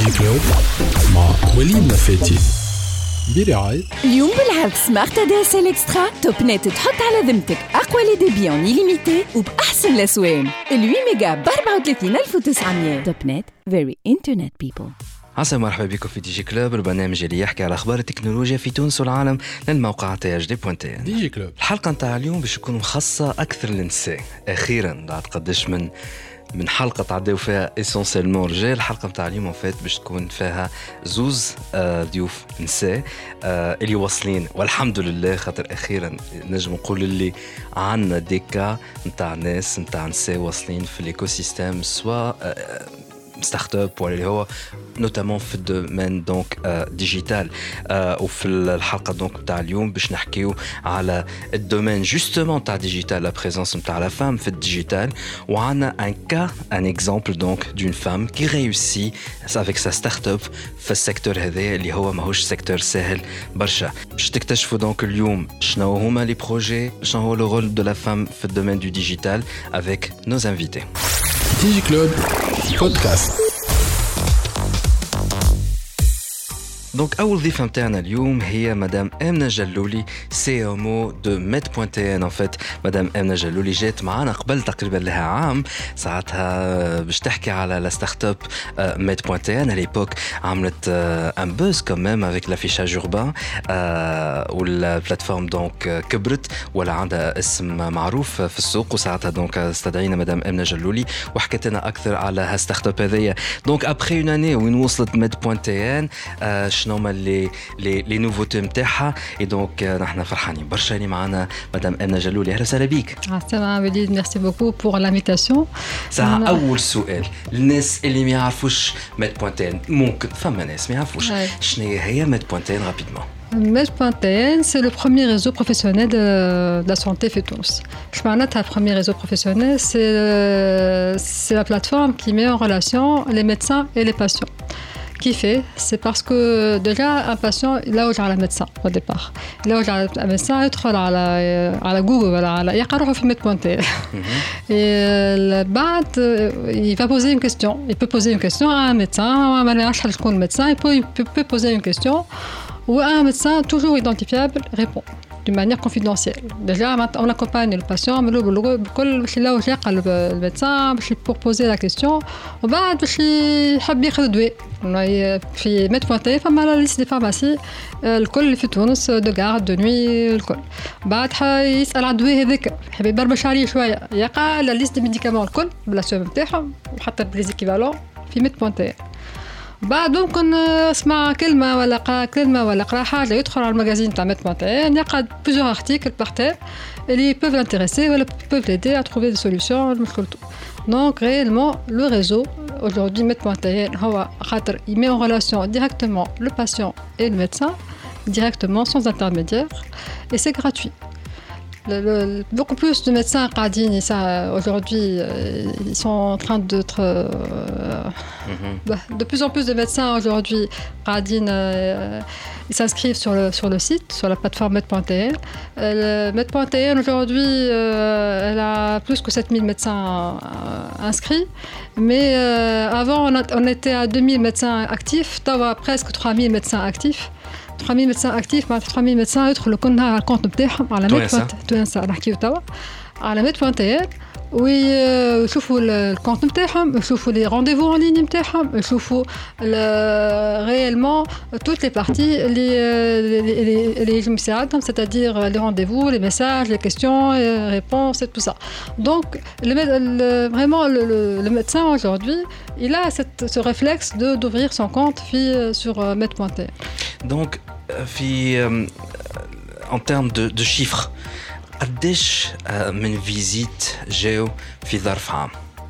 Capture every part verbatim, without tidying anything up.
ديجي كلوب مع وليد نفاتي برعاية. اليوم بالعرض سمارت دي اس ال اكسترا توب نت تحط على ذمتك اقوى لي ديبي اون ليميتي وباحسن الاسوان ثمانية ميجا ب أربعة وثلاثين ألف وتسعمية. توب نت فيري انترنت بيبل. عسى مرحبا بكم في دي جي كلوب، البرنامج اللي يحكي على اخبار التكنولوجيا في تونس والعالم للموقع تي اش دي بوان تي ان. دي جي كلوب الحلقه نتاع اليوم باش تكون مخصصه اكثر للنساء. اخيرا بعد قداش من من حلقه تعداو فيها اسونسيلمون رجال، الحلقه نتاع اليوم فات باش تكون فيها زوز آه ضيوف نساء آه اللي واصلين والحمد لله، خاطر اخيرا نجم نقول اللي عندنا ديكا نتاع ناس نتاع نساء واصلين في الايكو سيستيم، سواء آه ستارت اب ولا اللي هو نوتامون في الدومين دونك ديجيتال. وفي الحلقه دونك تاع اليوم باش نحكيو على الدومين جوستومون تاع ديجيتال، لا بريزونس نتاع لا فام في الديجيتال، وعندنا ان كا ان اكزامبل دونك دون فام كي ريوسي افيك سا ستارت اب في السيكتور هذا اللي هو ماهوش سيكتور سهل برشا. باش تكتشفوا دونك اليوم شنو هما لي بروجي، شنو هو لو رول دو لا فام في الدومين دو ديجيتال افيك نوز انفيتي. دي جي كلوب بودكاست. دونك أول ضيفة متاعنا اليوم هي مدام آمنة جلولي، سي ام او دو ميت بوان تي ان. ان فيت مدام آمنة جلولي جات معنا قبل تقريبا لها عام، ساعتها باش تحكي على لا ستارت اب ميت بوان تي ان. على ليبوك عملت ان بوز كمان افيك لافيشاج اوربان، والبلاتفورم دونك كبرت ولا عندها اسم معروف في السوق، وساعتها دونك استدعينا مدام آمنة جلولي وحكيت لنا اكثر على هالستارت اب هذيا. دونك ابخي اون اني وين وصلت ميت بوان تي ان، شنو هما لي لي لي نوفوتي نتاعها، اي دونك نحن فرحانين برشا اللي معنا مدام آمنة جلولي. اهلا وسهلا بيك. السلام وليد، ميرسي بوكو بور لانفيتاسيون. ساعة اول سؤال للناس اللي ما يعرفوش ميت بوان تي ان، ممكن فما ناس ما يعرفوش شنو هي ميت بوان تي ان رابيدمون. ميت بوان تي ان c'est le premier réseau professionnel de, de la santé في تونس. Je parle de premier réseau professionnel, c'est c'est la plateforme qui met en relation les médecins et les patients. Qui fait, c'est parce que déjà un patient, là où j'ai le médecin au départ, là où j'ai un médecin, il trouve à la à la Google, à la يقرأه في ميت بوان تي ان. Et بعد il va poser une question, il peut poser une question à un médecin, ما نعرفش شكون الميدسان, il peut il peut poser une question où un médecin toujours identifiable répond d'une manière confidentielle. Déjà, on accompagne le patient, mais le là où j'ai le médecin, pour poser la question, et بعد باش يحب ياخذ دواء. في ميت بوان تي ان فما لا ليست دي فارماسي الكل اللي في تونس دو غارد دو نوي الكل. بعد يسال على الدواء هذاك، يحب يبربش عليه شويه، يلقى لا ليست دي ميديكامون الكل بلا سوم نتاعهم وحتى بليزيكيفالون في ميت بوان تي ان. بعد ممكن اسمع كلمة ولا قرأ كلمة ولا قرأ حاجة، يدخل على المجازين تاع ميت بوان تي ان، يقعد plusieurs articles par terre اللي peuvent l'intéresser ولا peuvent l'aider à trouver des solutions لمشكلته. Donc réellement le réseau aujourd'hui ميت بوان تي ان هو خاطر il met en relation directement le patient et le médecin directement sans intermédiaire et c'est gratuit. Le, le, beaucoup plus de médecins قاعدين ça aujourd'hui euh, ils sont en train d'être euh, mm-hmm. bah, de plus en plus de médecins aujourd'hui قاعدين euh, ils s'inscrivent sur le sur le site, sur la plateforme ميت بوان تي ان. euh, ميت بوان تي ان aujourd'hui euh, elle a plus que sept mille médecins euh, inscrits, mais euh, avant on, a, on était à deux mille médecins actifs, توا presque trois mille médecins actifs. trois mille médecins actifs مع trois mille médecins يدخلوا كلنا على الكونت نتاعهم على ميت بوان تونس نحكيو توا على ميت بوان تي ان، ويشوفوا الكونت نتاعهم، يشوفوا لي رونديفو اون لين نتاعهم، يشوفوا réellement toutes les parties اللي اللي يجم يساعدهم، c'est-à-dire les rendez-vous, les messages, les questions, les réponses et tout ça. Donc le, le, vraiment le, le, le médecin aujourd'hui il a cette, ce réflexe de d'ouvrir son compte sur ميت بوان تي ان. Donc في en termes de, de chiffres قديش من فيزيت جاو في ظرف عام؟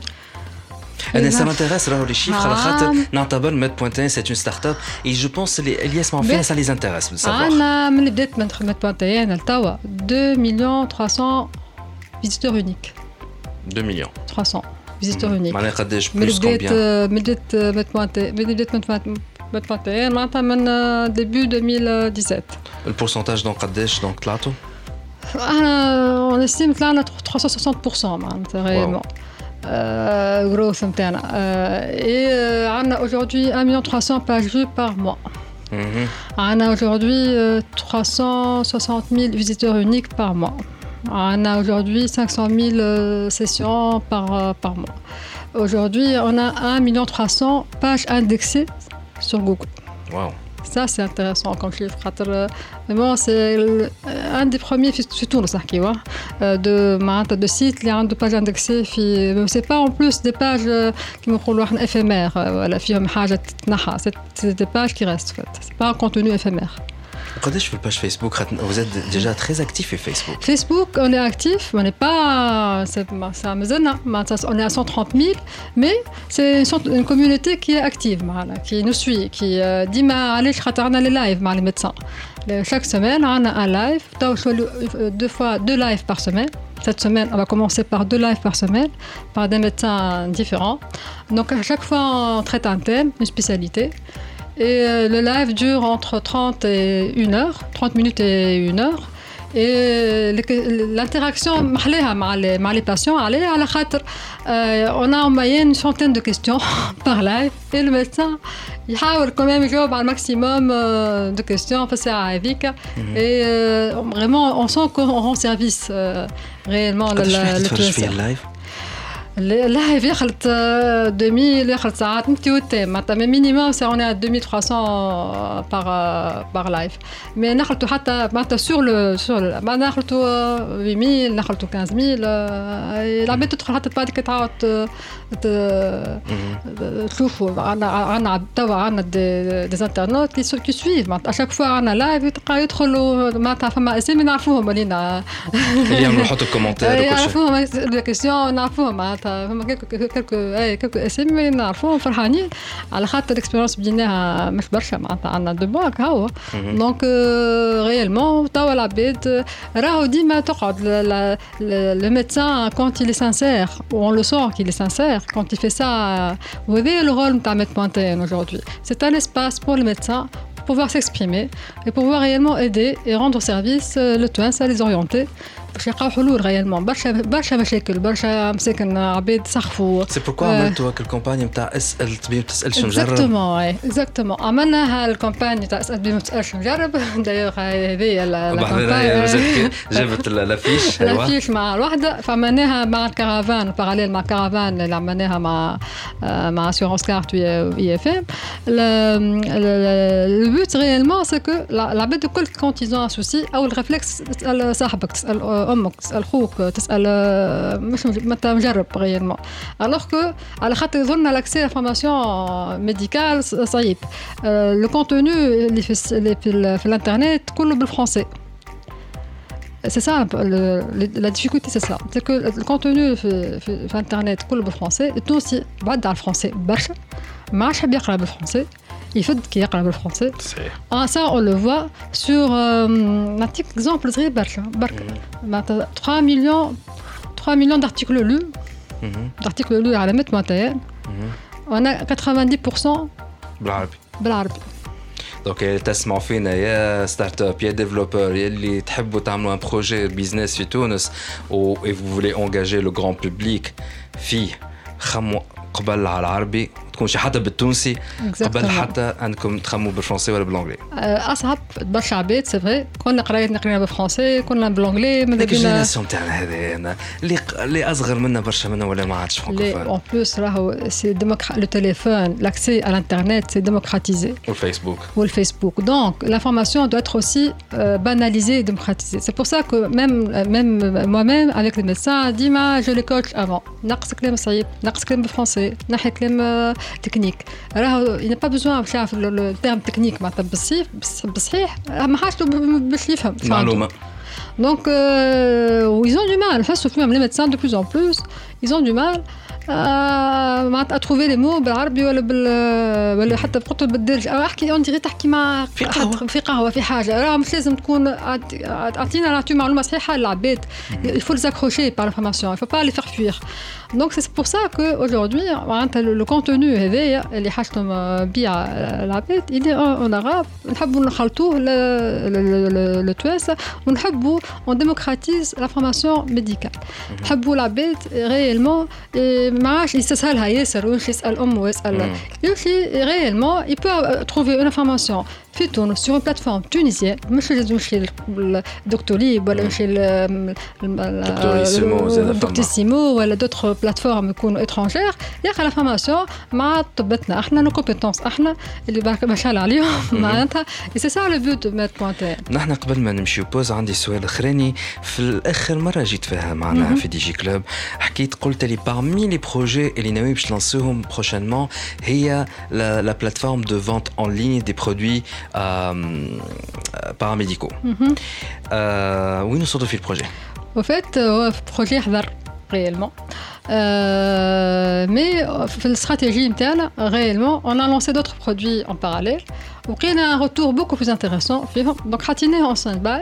انا ça m'intéresse راهو لي شيفر على خاطر نعتبر ميت بوان تي ان c'est une start-up et je pense اللي اللي يسمعوا فيها ça les intéresse de savoir. انا من بديت ميت بوان تي ان لتوا deux millions trois cents visiteurs uniques. deux millions trois cents visiteurs uniques. معناها قداش من بلوس بديت كومبيان؟ من بديت ميت بوان تي من بديت ميت بوان تي ان معناتها من début deux mille dix-sept. البورسنتاج دونك قداش دونك طلعتوا؟ انا on estime طلعنا trois cent soixante pour cent معناتها réellement. growth نتاعنا et on a aujourd'hui un million trois cents pages vues par mois. On a aujourd'hui trois cent soixante mille visiteurs uniques par mois. On a aujourd'hui cinq cent mille sessions par par mois. Aujourd'hui, on a un million trois cents pages indexées sur Google. Wow. Ça, c'est intéressant comme chiffre. Vraiment, c'est un des premiers في تونس نحكيوا de معناتها de sites اللي عنده page indexée في c'est pas en plus des pages كيما نقولوا احنا éphémères ولا فيهم حاجة تتنحى. C'est des pages qui restent en fait. C'est pas un contenu éphémère. قداش في الباج فيسبوك vous êtes déjà très actif في فيسبوك. Facebook, on est actif, on n'est pas ça مازلنا on est à cent trente mille mais c'est une, une communauté qui est active معنا, qui nous suit, qui ديما علاش خاطر عندنا les lives مع les médecins. Chaque semaine, on a un live, deux fois deux lives par semaine. Cette semaine, on va commencer par deux lives par semaine, par des médecins différents. Donc à chaque fois, on traite un thème, une spécialité. Et le live dure entre trente et une heure, trente minutes et une heure. Et l'interaction avec les patients, on a en moyenne une centaine de questions par live. Et le médecin, il essaie quand même de jouer un maximum de questions. Et vraiment, on sent qu'on rend service réellement le live. اللايف يخلط deux mille يخلط ساعات نتي وتام معناتها مينيموم سي اون deux mille trois cents par par live مي نخلطوا حتى معناتها سور لو سور ما نخلطوا huit mille نخلطوا quinze mille العباد تدخل حتى بعد كي تعاود تشوفوا عندنا عندنا توا عندنا دي انترنت كي كي سويف معناتها اشاك فوا عندنا لايف يدخلوا معناتها فما اسامي نعرفوهم ولينا اللي يعملوا يحطوا الكومنتير يعرفوهم لي كيسيون نعرفوهم معناتها فما كلكو كلكو اي كلكو اسامي نعرفوهم فرحانين على خاطر الاكسبيريونس بديناها مش برشا معناتها عندنا دو باك هاو دونك ريالمون توا العباد راهو ديما تقعد لو ميدسان كونت il est sincère on le sent qu'il est sincère quand il fait ça وهذا le rôle نتاع ميدبوانتين aujourd'hui c'est un espace pour le médecin pour pouvoir s'exprimer et pouvoir réellement aider et rendre service le توانسة les orienter باش يلقاو حلول غيالمون برشا برشا مشاكل برشا مساكن عباد سخفوا سي بوركوا عملتوا هاك الكامباني نتاع اسال الطبيب تسالش نجرب اكزاكتومون اي اكزاكتومون عملنا هالكامباني تاع اسال الطبيب ما تسالش نجرب دايوغ هذه الكامباني جابت لافيش لافيش مع الوحده فعملناها مع الكارافان باراليل مع كارافان اللي عملناها مع مع اسيورونس كارت وي اف ام البوت ريالمون سي كو العباد الكل كونت ايزون ان سوسي او الريفلكس تسال صاحبك تسال امك تسال خوك تسال مش متى مجرب ريالمون الوغ كو على خاطر يظن لاكسي لا فورماسيون ميديكال صعيب لو كونتوني اللي في في الانترنت كله بالفرنسي c'est ça la difficulté c'est ça c'est que le contenu في الانترنت كله بالفرنسي التونسي بعد على الفرنسي برشا ما عادش حاب يقرا بالفرنسي يفد كي يقرا بالفرنسي اه ça on le voit sur نعطيك exemple صغير برشا برك معناتها trois millions trois millions d'articles lus d'articles lus على ميت مونتين on a quatre-vingt-dix pour cent بالعربي بالعربي دونك تسمعوا فينا يا ستارت اب يا ديفلوبر يلي تحبوا تعملوا ان بروجي بيزنس في تونس و et vous voulez engager le grand public فيه خموا قبل على العربي تكون شي حتى بالتونسي قبل حتى انكم تخموا بالفرنسي ولا بالانجلي اصعب برشا عباد سي فري كنا قرايتنا قرينا بالفرنسي كنا بالانجلي من ديك الجينيراسيون تاعنا هذه اللي اللي اصغر منا برشا منا ولا ما عادش فرانكوفون اون بلوس راهو سي ديموكرا لو تيليفون لاكسي على الانترنت سي ديموكراتيزي والفيسبوك والفيسبوك دونك l'information doit être aussi euh, banalisée et démocratisée c'est pour ça que même même moi-même avec les médecins ديما je les coach avant نقص كلام صعيب نقص كلام بالفرنسي نحي كلام تكنيك راهو il n'a pas besoin de faire le terme technique معناتها بالصيف بصحيح ما حاجته باش يفهم معلومه donc euh, ils ont du mal face aux les médecins de plus en plus ils ont du mal معناتها trouver les mots بالعربي ولا بال ولا حتى بقطر بالدرج او احكي اون ديري تحكي مع في قهوه في قهوه في حاجه راه مش لازم تكون اعطينا نعطيو معلومه صحيحه للعباد il faut les accrocher par l'information il faut pas les faire fuir Donc c'est pour ça qu'aujourd'hui, le contenu اللي حاجتهم بيع العباد il est en arabe. نحبوا نخلطوه للتوانسة ونحبوا on démocratise l'information médicale. نحبوا العباد réellement ما عادش يستسهلها ياسر ويمشي يسأل أمه ويسأل يمشي réellement il peut trouver une information في تونس sur une plateforme tunisienne مش لازم يمشي لدكتوريب ولا يمشي لدكتوريسيمو ولا d'autres plateformes يكونوا étrangères ياخذ l'information مع طبتنا احنا nos compétences احنا اللي ما شاء الله عليهم معناتها c'est ça le but de mettre pointer. نحن قبل ما نمشي بوز عندي سؤال اخراني. في الاخر مره جيت فيها معنا في دي جي كلوب حكيت قلت لي parmi les projets اللي ناوي باش نلانسوهم prochainement هي la plateforme de vente en ligne des produits paramédicaux. وين وصلتوا في البروجي؟ au fait هو projet حضر réellement. Euh, mais في الstratégie نتاعنا réellement on a lancé d'autres produits en parallèle وقينا un retour beaucoup plus intéressant فيهم donc حاطيناه en stand-by.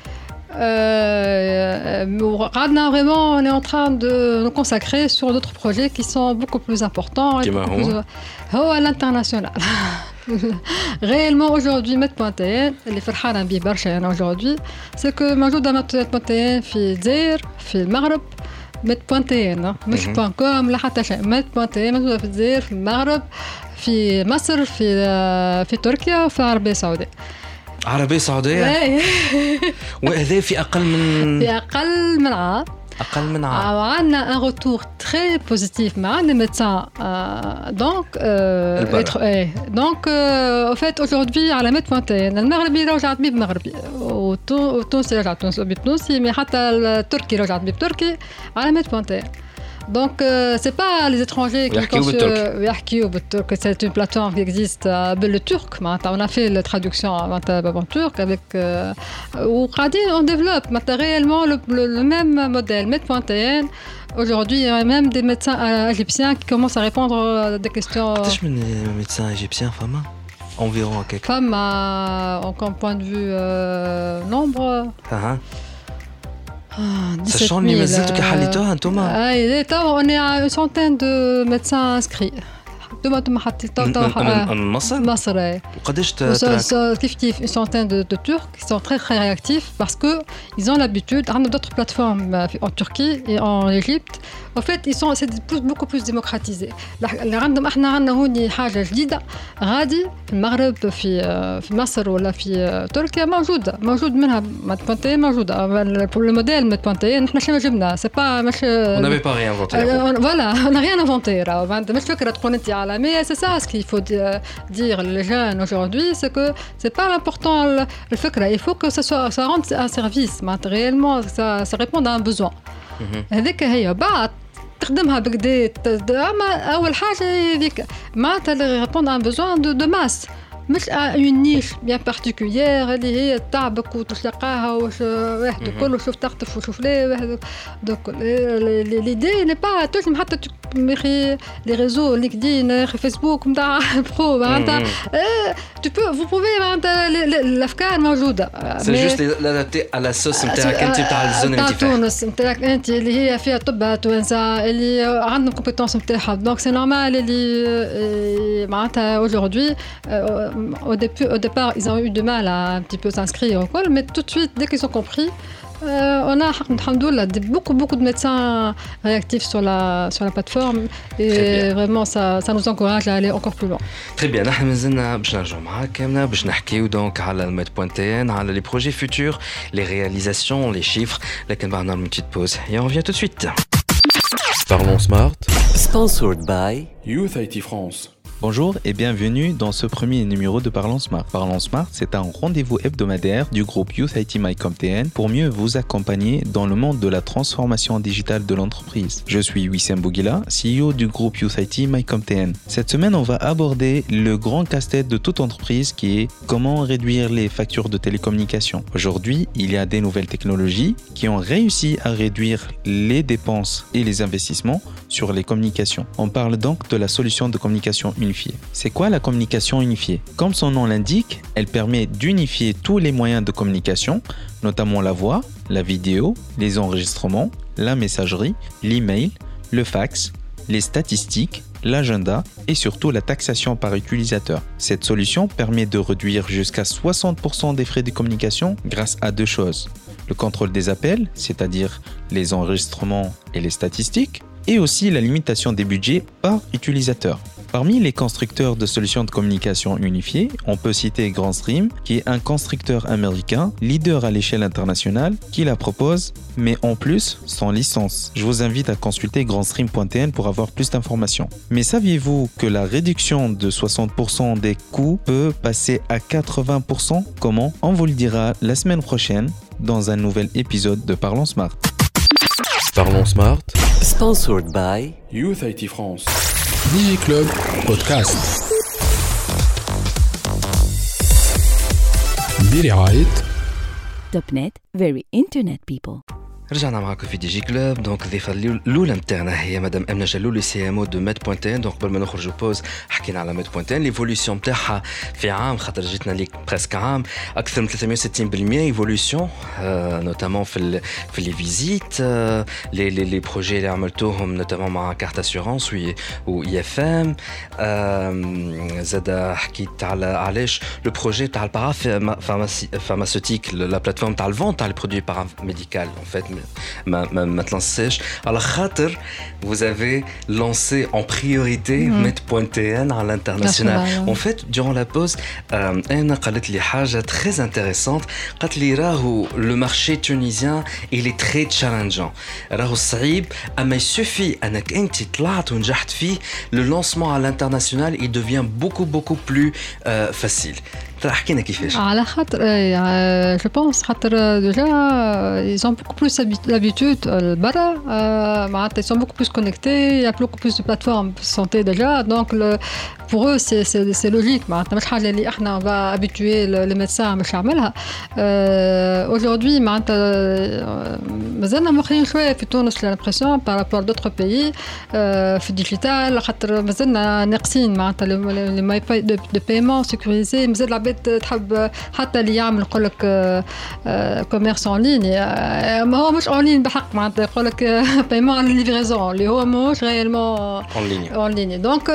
قعدنا vraiment on est en train de nous consacrer sur d'autres projets qui sont beaucoup plus importants et beaucoup plus هو l'international. réellement aujourd'hui met pointer اللي فرحانه بيه برشا انا aujourd'hui c'est que موجوده met pointer في الجزائر في المغرب met pointer مش بوان كوم لا حتى شيء met pointer موجوده في الجزائر في المغرب في مصر في في تركيا وفي العربيه السعوديه. عربيه سعوديه وهذا في اقل من في اقل من عام أقل من عام. وعندنا un retour très positif مع les médecins donc donc au fait aujourd'hui على ميت بوانتين المغربي رجعت بيه بمغربي والتونسي رجعت تونسي بتونسي mais حتى التركي رجعت بيه بتركي على ميت بوانتين. Donc euh, c'est pas les étrangers qui يحكيوا بالترك. C'est une plateforme qui existe بالله turc. On a fait la traduction en turc avec وقاعدين on développe maintenant réellement le, le, le même modèle met pointer. Aujourd'hui, il y a même des médecins égyptiens qui commencent à répondre à des questions. قداش من médecins égyptiens فما environ à quelque femme en point de vue euh, nombre. Uh-huh. Sachant اللي مازلتوا كحليتوها انتوما. اي تو on est à une centaine de médecins inscrits. دوما انتم حطيتوا من مصر؟ مصر. وقداش كيف كيف une centaine de, de Turcs qui sont très très réactifs parce que ils ont l'habitude. On a d'autres plateformes en Turquie et en Égypte. En fait, ils sont c'est beaucoup plus démocratisés. اللي عندهم احنا عندنا هوني حاجه جديده غادي في المغرب في في مصر ولا في تركيا موجوده موجود منها ماتبونتي موجوده الموديل ماتبونتي نحن شنو جبنا سي با مش on n'avait pas rien inventé. Voilà, on n'a rien inventé. مش فكره تكون انت على mais c'est ça ce qu'il faut dire les jeunes aujourd'hui c'est que c'est pas l'important le فكره il faut que ça soit ça rende un service réellement ça ça répond à un besoin. هذيك هي بعد تخدمها بكدا اما اول حاجه هذيك معناتها اللي ريبوند ان بوزوان دو دو ماس مش اون نيش بيان بارتيكولير اللي هي تعبك وتلقاها وش واحد كله شوف تخطف وشوف ليه واحد دوك ليدي ني با تنجم حتى مخي لي ريزو لينكدين فيسبوك نتاع برو معناتها tu peux vous pouvez معناتها الافكار موجوده سي جوست لادابتي على السوس نتاعك انت نتاع الزون اللي انت فيها تونس نتاعك انت اللي هي فيها طب توانسه اللي عندهم كومبيتونس نتاعها دونك سي نورمال اللي معناتها aujourd'hui au début au départ ils ont eu du mal à un petit peu s'inscrire au col mais tout de suite dès qu'ils ont compris Euh, on a alhamdoulilah beaucoup beaucoup de médecins réactifs sur la sur la plateforme et vraiment ça ça nous encourage à aller encore plus loin. Très bien, نحن مازلنا باش نرجعوا معاك كامله باش نحكيو دونك على الميت بوانتين على les projets futurs, les réalisations, les chiffres. لكن بعد نعمل une petite pause et on revient tout de suite. Parlons Smart. Sponsored by Youth I T France. Bonjour et bienvenue dans ce premier numéro de Parlons Smart. Parlons Smart, c'est un rendez-vous hebdomadaire du groupe Youth I T MyCompTN pour mieux vous accompagner dans le monde de la transformation digitale de l'entreprise. Je suis Wissem Bouguila, C E O du groupe Youth I T MyCompTN. Cette semaine, on va aborder le grand casse-tête de toute entreprise qui est comment réduire les factures de télécommunications. Aujourd'hui, il y a des nouvelles technologies qui ont réussi à réduire les dépenses et les investissements sur les communications. On parle donc de la solution de communication unifiée. C'est quoi la communication unifiée? Comme son nom l'indique, elle permet d'unifier tous les moyens de communication, notamment la voix, la vidéo, les enregistrements, la messagerie, l'email, le fax, les statistiques, l'agenda et surtout la taxation par utilisateur. Cette solution permet de réduire jusqu'à soixante pour cent des frais de communication grâce à deux choses. Le contrôle des appels, c'est-à-dire les enregistrements et les statistiques, et aussi la limitation des budgets par utilisateur. Parmi les constructeurs de solutions de communication unifiées, on peut citer GrandStream, qui est un constructeur américain, leader à l'échelle internationale, qui la propose, mais en plus, sans licence. Je vous invite à consulter grandstream point t n pour avoir plus d'informations. Mais saviez-vous que la réduction de soixante pour cent des coûts peut passer à quatre-vingts pour cent? Comment? On vous le dira la semaine prochaine dans un nouvel épisode de Parlons Smart. Parlons Smart. Sponsored by Youth I T France. DigiClub Podcast. برعاية توب نت very internet people. رجعنا معكم في دي جي كلوب. دونك الضيفه الاولى نتاعنا هي مدام امنه جلولي سي ام او دو ميد بوينت ان. دونك قبل ما نخرجوا بوز حكينا على ميد بوينت ان ليفوليسيون نتاعها في عام، خاطر جيتنا ليك بريسك عام اكثر من ثلاثمية وستين بالمية ايفوليسيون نوتامون في ال في لي فيزيت لي لي لي بروجي اللي عملتوهم نوتامون مع كارت اسيورونس و اي اف ام. زاد حكيت على علاش لو بروجي تاع البارا فارماسيوتيك لا بلاتفورم تاع الفون تاع لي برودوي بارا ميديكال. En fait, ma, ma, ma تلانسيش على خاطر vous avez lancé en priorité mm-hmm. med point t n à l'international. Ouais. En fait, durant la pause, أنا قالت لي حاجة très intéressante. قالت لي راهو le marché tunisien il est très challengeant. راهو صعيب أما يسوفي أنك أنت طلعت ونجحت فيه le lancement à l'international il devient beaucoup beaucoup plus euh, facile. حكينا كيفاش على خاطر جو بونس خاطر ديجا ils ont beaucoup plus l'habitude برا معناتها ils sont beaucoup plus connectés, il y a beaucoup plus de plateformes de santé déjà, donc le, pour eux c'est c'est c'est logique معناتها مش حاجه اللي احنا va habituer le médecin باش يعملها. Aujourd'hui معناتها مازلنا مخرين شويه في تونس l'impression par rapport à d'autres pays في الديجيتال خاطر مازلنا ناقصين معناتها لي ماي دو بايمون سيكوريزي. مازال العباد تحب حتى اللي يعمل يقول لك كوميرس اون لين ما هو مش اون لين بحق معناتها يقول لك بايمون على ليفريزون اللي هو مش ريالمون اون لين اون لين. دونك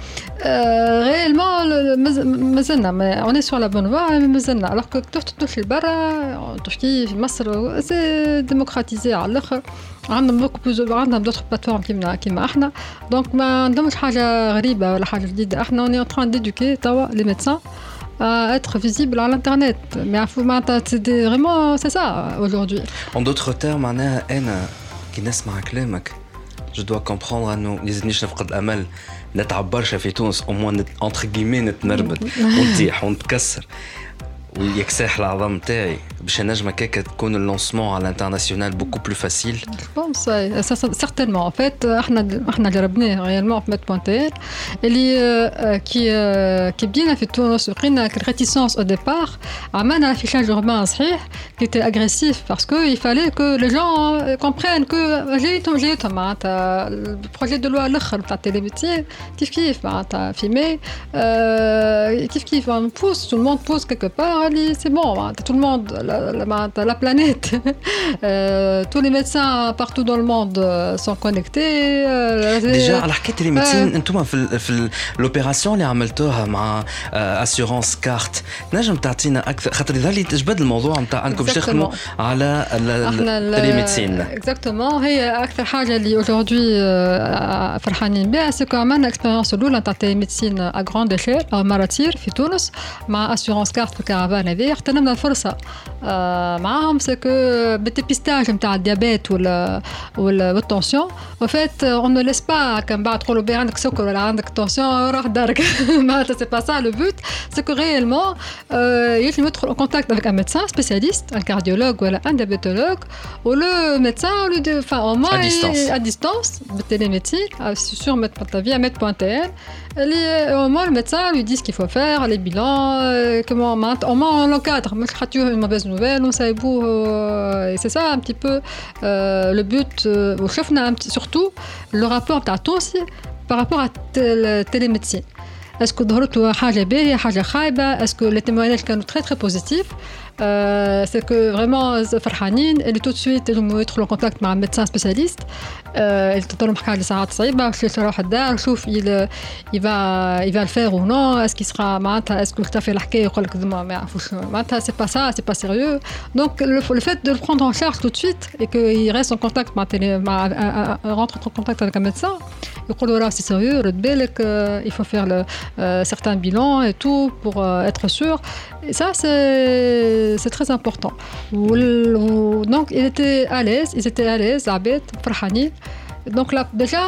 ريالمون مازلنا اون سور لا بون فوا مازلنا الوغ كو تمشي لبرا تحكي في مصر سي ديموكراتيزي على الاخر. عندنا بوكو بلوز عندنا دوطخ بلاتفورم كيما كيما احنا. دونك ما عندهمش حاجه غريبه ولا حاجه جديده. احنا اون تران ديدوكي توا لي ميدسان à être visible à l'internet. Mais c'est vraiment c'est ça aujourd'hui. En d'autres termes, أنا أنا كي نسمع كلامك je dois comprendre إنه لازمنيش نفقد الأمل نتعب برشا في تونس au moins entre guillemets نتنربط ونطيح ونتكسر ويكسح العظام تاعي باش نجم هكاك تكون اللونسمون على الانترناسيونال بوكو بلو فاسيل. بونس سيرتينمون ان فيت احنا احنا جربناه ريالمون في ميد بوينت ان اللي كي كي بدينا في تونس لقينا ريتيسونس او ديبار. عملنا لافيشاج اوربان صحيح كي تي اغريسيف باسكو يفالي كو لي جون كومبرين كو جيتهم جيتهم معناتها البروجي دو لوا الاخر تاع التيليميديسين كيف كيف معناتها في مي كيف كيف بوس تو الموند بوس كيكو بار c'est bon, tout le monde, la, la, la planète, euh, tous les médecins partout dans le monde sont connectés. Euh, Déjà, على حكاية les médecins, أنتم في في l'opération اللي عملتوها مع assurance carte، نجم تعطينا أكثر خاطر ذلك تجبد الموضوع نتاع أنكم تشتغلوا على les médecins. Exactement، هي أكثر حاجة اللي aujourd'hui فرحانين بها سكو عملنا expérience الأولى نتاع télémédecine à grande échelle à Maratir في تونس مع assurance carte في كارافان هذه. اغتنمنا الفرصة معهم سكو بالتبيستاج نتاع الديابيت ولا ولا والتنسيون وفات اون نو ليس با كان بعد تقولوا بي عندك سكر ولا عندك تنسيون راح دارك معناتها سي با سا لو بوت سكو ريالمون يجي يدخل ان كونتاكت افيك ان ميدسان سبيسياليست ان كارديولوج ولا ان ديابيتولوج ولو ميدسان لو فا او موان ا ديستانس بالتيليميديسين سور ميد بونتافيا ميد بوينت ان اللي au moins le médecin lui dit ce qu'il faut faire, les bilans, euh, comment au moins on l'encadre. Moi je crois que une mauvaise nouvelle, on sait beau euh, et c'est ça un petit peu euh, le but au chef n'a surtout le rapport à toi aussi par rapport à la télémédecine. Est-ce que ظهرت حاجة باهية حاجة خايبة؟ Est-ce que les témoignages كانوا très très positifs? Euh, c'est que vraiment فرحانين اللي tout de suite ils vont être en contact مع un médecin spécialiste Euh, تضل محكا لي ساعات صعيبة باش يروح الدار شوف il il va il va le faire ou non est-ce qu'il sera معناتها est-ce que اختفى الحكاية يقول لك ما ما يعرفوش معناتها c'est pas ça c'est pas sérieux donc le, le fait de le prendre en charge tout de suite et qu'il reste en contact مع مع rentre en contact avec un médecin يقول له c'est sérieux رد بالك il faut faire le euh, certains bilans et tout pour euh, être sûr et ça c'est c'est très important donc il était à l'aise ils étaient à l'aise عباد فرحانين donc là déjà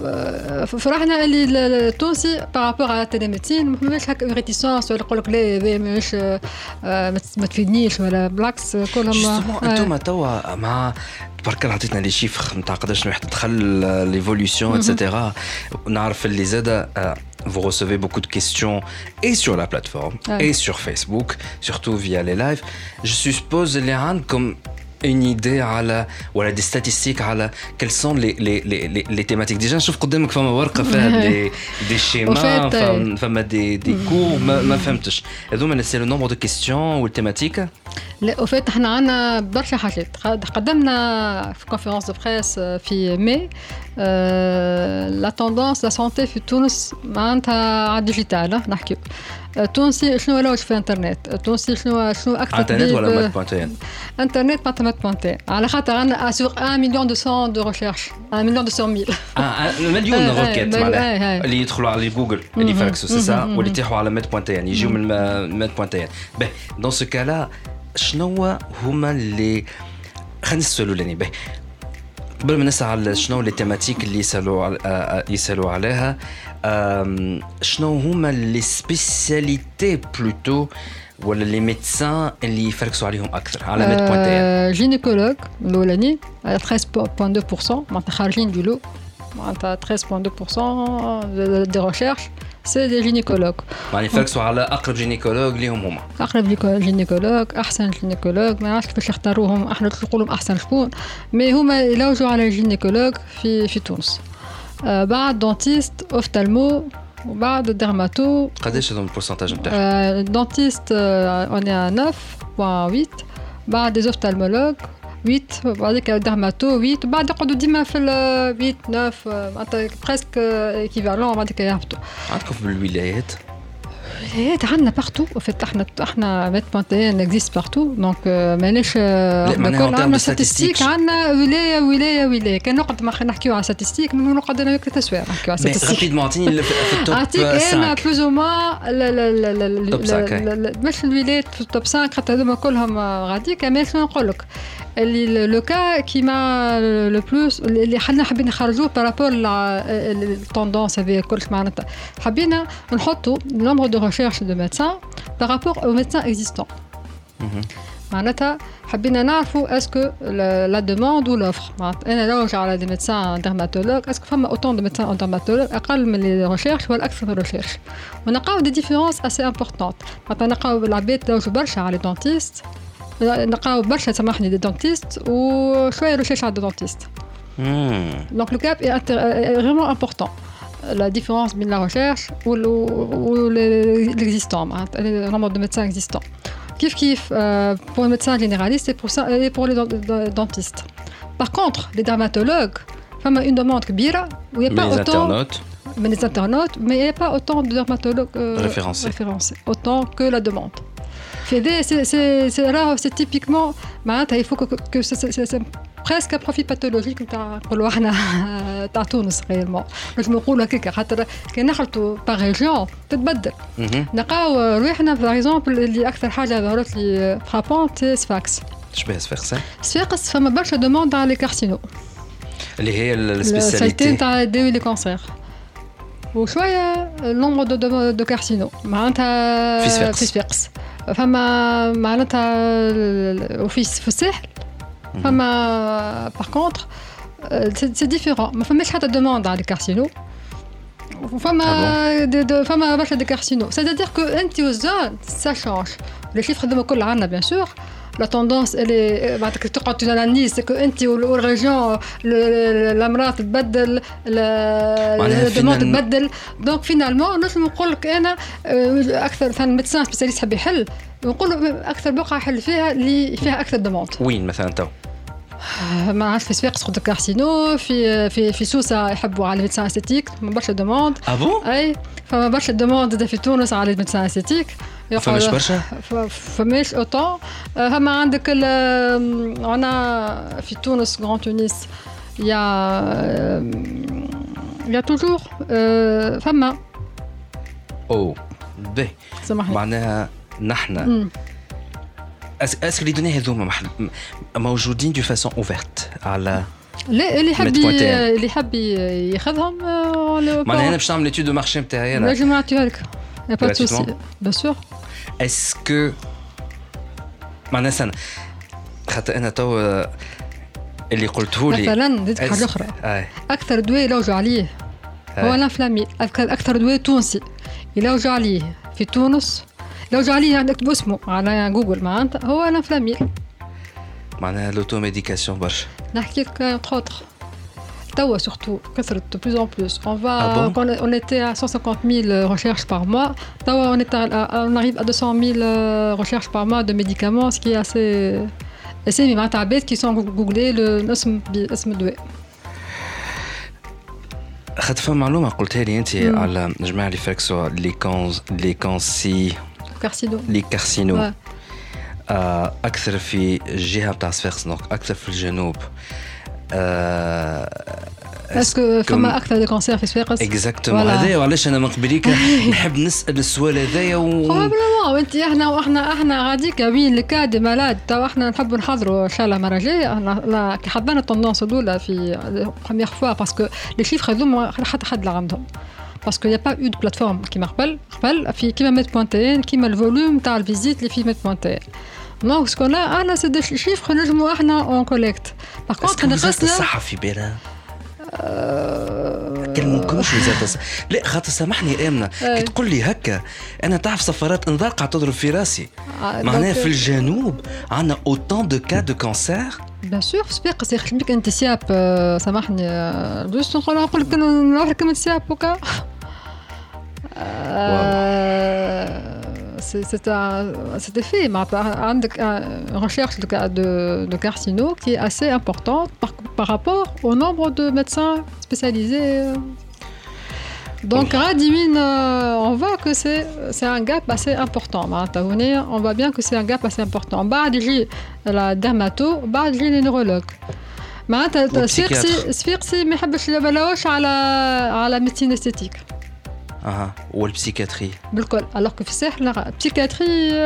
فرحنا اللي التونسي بارابور على التلميذين ما فماش هكا ريتيسونس ولا يقول لك لا هذا ماهيش ما تفيدنيش ولا بالعكس كلهم انتم توا مع برك عطيتنا لي شيفر نتاع قداش واحد دخل ليفولوشن ايتترا نعرف اللي زاده vous recevez beaucoup de questions et sur la plateforme ouais. et sur Facebook surtout via les lives je suppose les rendre comme une idée على ولا des statistiques على quelles sont les les les les thématiques déjà نشوف قدامك فما ورقه فيها des des schémas فما فما des des cours ما ما فهمتش هذوما c'est le nombre de questions ou thématiques لا وفات احنا عندنا برشا حاجات قدمنا في كونفيرنس دو بريس في ماي لا توندونس لا سانتي في تونس معناتها على الديجيتال نحكيو التونسي شنو ولا واش في انترنت التونسي شنو شنو اكثر انترنت ولا مات بوانتين انترنت مات مات بوانتين على خاطر عندنا سور واحد مليون مئتين دو ريشيرش واحد مليون مئتين اه مليون روكيت معناها اللي يدخلوا على جوجل اللي يفركسوا سي سا واللي يتيحوا على مات بوانتين يجيو من مات بوانتين باهي دون سو كالا شنو هما اللي خلينا نسولوا لاني باهي قبل ما نسال شنو لي تيماتيك اللي يسالوا يسالوا عليها شنو هما لي سبيسياليتي بلوتو ولا لي ميدسان اللي يفركسوا عليهم اكثر على ميد بوانتين جينيكولوج الاولاني ثلاثة فاصلة اثنين بالمئة معناتها خارجين دو لو معناتها ثلاثة فاصلة اثنين بالمئة دي ريشيرش سي دي جينيكولوج يعني يفركسوا على اقرب جينيكولوج ليهم هما اقرب جينيكولوج احسن جينيكولوج ما نعرفش كيفاش يختاروهم احنا نقولوا احسن شكون مي هما يلوجوا على جينيكولوج في في تونس آه بعد دونتيست اوفتالمو وبعد ديرماتو قداش هذوم البورسنتاج نتاعهم دونتيست اون ا تسعة فاصلة ثمانية بعد دي اوفتالمولوج ثمانية بعدك ديرماتو ثمانية بعد يقعدوا ديما في ثمانية تسعة معناتها بريسك ايكيفالون بعدك يهبطوا عندكم في الولايات الولايات عندنا بارتو وفات احنا احنا ميت بوانتين اكزيست بارتو دونك ماناش عندنا ستاتستيك عندنا ولايه ولايه ولايه كان نقعد ما نحكيو على ستاتستيك نقعد انا وقت تسويق نحكيو على ستاتستيك رابيد معطيني في التوب اعطيك انا بلوز او ما لا لا لا مش الولايات في التوب خمسة خاطر هذوما كلهم غادي كمان شنو نقول لك اللي لو كا كيما لو بلوس اللي حنا حابين نخرجوه بارابور التوندونس هذه كلش معناتها حابين نحطوا نومبر دو ريشيرش دو ميدسان بارابور او ميدسان اكزيستون معناتها حابين نعرفوا اسكو لا دوموند و لوفر معناتها انا لو على دي ميدسان ديرماتولوج اسكو فما اوتون دو ميدسان ديرماتولوج اقل من لي ريشيرش ولا اكثر من ريشيرش ونلقاو دي ديفيرونس اسي امبورطونت معناتها نلقاو العباد لوجوا برشا على دونتيست نلقاو برشا سامحني دي دونتيست وشويه ريشيرش على دونتيست دونك لو كاب est vraiment important la différence بين la recherche ou l'existant le nombre de médecins existants كيف كيف pour les médecins généralistes et pour ça et pour les dentistes par contre les dermatologues فما une demande كبيره où il y a pas autant mais les internautes mais il y a pas autant de dermatologues référencés référencés autant que la demande c'est c'est c'est là c'est typiquement معناتها il faut que que c'est presque un profil pathologique تاع نقولوا احنا تاع تونس غيرمون باش نقولوا هكاك خاطر كي نخلطوا باغ ريجيون تتبدل نلقاو روحنا باغ اكزومبل اللي اكثر حاجه ظهرت لي فرابونت سفاكس شبيه سفاكس سفاكس فما برشا دوموند على لي كارسينو اللي هي السبيسياليتي تاع دي لي كانسير وشويه النومبر دو دو كارسينو معناتها في سفاكس فما معناتها وفي في الساحل فما باغ كونطخ سي ديفيرون ما فماش حتى دوموند على الكارسينو فما فما برشا دي كارسينو سيتادير كو انت وزان سا شانج لي شيفر هذوما كل عندنا بيان سور لا توندونس اللي بعد تقعد تاناليز سكو انت والريجيون الامراض تبدل الدوموند تبدل دونك فينالمون نجم نقول لك انا اكثر مثلا ميدسان سبيسياليست حاب يحل نقول اكثر بقعه يحل فيها اللي فيها اكثر دوموند وين مثلا تو ما عادش في سواق سقط كارسينو في في في سوسه يحبوا على الميدسان استيتيك ما برشا دوموند اه بون اي فما برشا دوموند في تونس على الميدسان استيتيك فماش برشا فماش اوتون هما عندك انا في تونس غران تونس يا يا توجور فما او باهي سامحني معناها نحن اسكو لي دوني هذوما موجودين دو فاسون اوفرت على لا اللي يحب اللي يحب ياخذهم معناها انا باش نعمل ايتود دو مارشي نتاعي انا نجم نعطيها لك يا با سوسي بيان سور اسكو معناها سنة خاطر انا تو اللي قلته لي مثلا نديك حاجه اخرى اكثر دواء يلوجوا عليه هو الانفلامين اكثر دواء تونسي يلوجوا عليه في تونس يلوجوا عليه عندك اسمه على جوجل معناتها هو الانفلامين معناها لوتوميديكاسيون برشا نحكي لك خوتر توا surtout كثرت de plus en plus on va ah bon? on, on était à cent cinquante mille recherches par mois tوا on est à, on arrive à deux cent mille recherches par mois de médicaments ce qui est assez assez معناتها عباد qui sont googlés الاسم باسم الدواء خاطر فما معلومه قلتها لي انت على جماعه اللي فاكسوا لي كونز لي كونسي كارسينو لي كارسينو اكثر في الجهه تاع صفاقس اكثر في الجنوب اسكو فما اكثر دي كونسير في صفاقس اكزاكتومون هذايا وعلاش انا من قبليك نحب نسال السؤال هذايا و بروبليمون وانت احنا واحنا احنا غاديك وين لكاد مالاد تو احنا نحب نحضروا ان شاء الله المره الجايه احنا كي حضرنا الطوندونس الاولى في بروميير فوا باسكو لي شيفر هذوما حتى حد لا عندهم باسكو يا با اود بلاتفورم كيما قبل قبل في كيما ميت بوان تي ان كيما الفوليوم تاع الفيزيت اللي في ميت بوان تي ان دونك سكون لا انا سي دي شيفر نجموا احنا اون كوليكت باغ كونطخ نقصنا الصحه في بالها كلمكمش وزاره الصحه لا خاطر سامحني امنه كي تقول لي هكا انا تعرف سفرات انذار قاعد تضرب في راسي معناها في الجنوب عندنا اوتون دو كا دو كانسير بيان سور في صفاقس يخدم بك انت سياب سامحني جوست نقول نقول لك نروح لك من سياب وكا c'était fait. Une recherche de, de, de carcino qui est assez importante par, par rapport au nombre de médecins spécialisés. Donc, Radimine, on voit que c'est, c'est un gap assez important. On voit bien que c'est un gap assez important. بعد يجي la dermato, بعد يجي les neurologues. معناتها صفيقسي صفيقسي ما يحبش يبلاوش على على ميديسين استيتيك. اها والبسيكاتري بالكل الوغ كو في الساحل البسيكاتري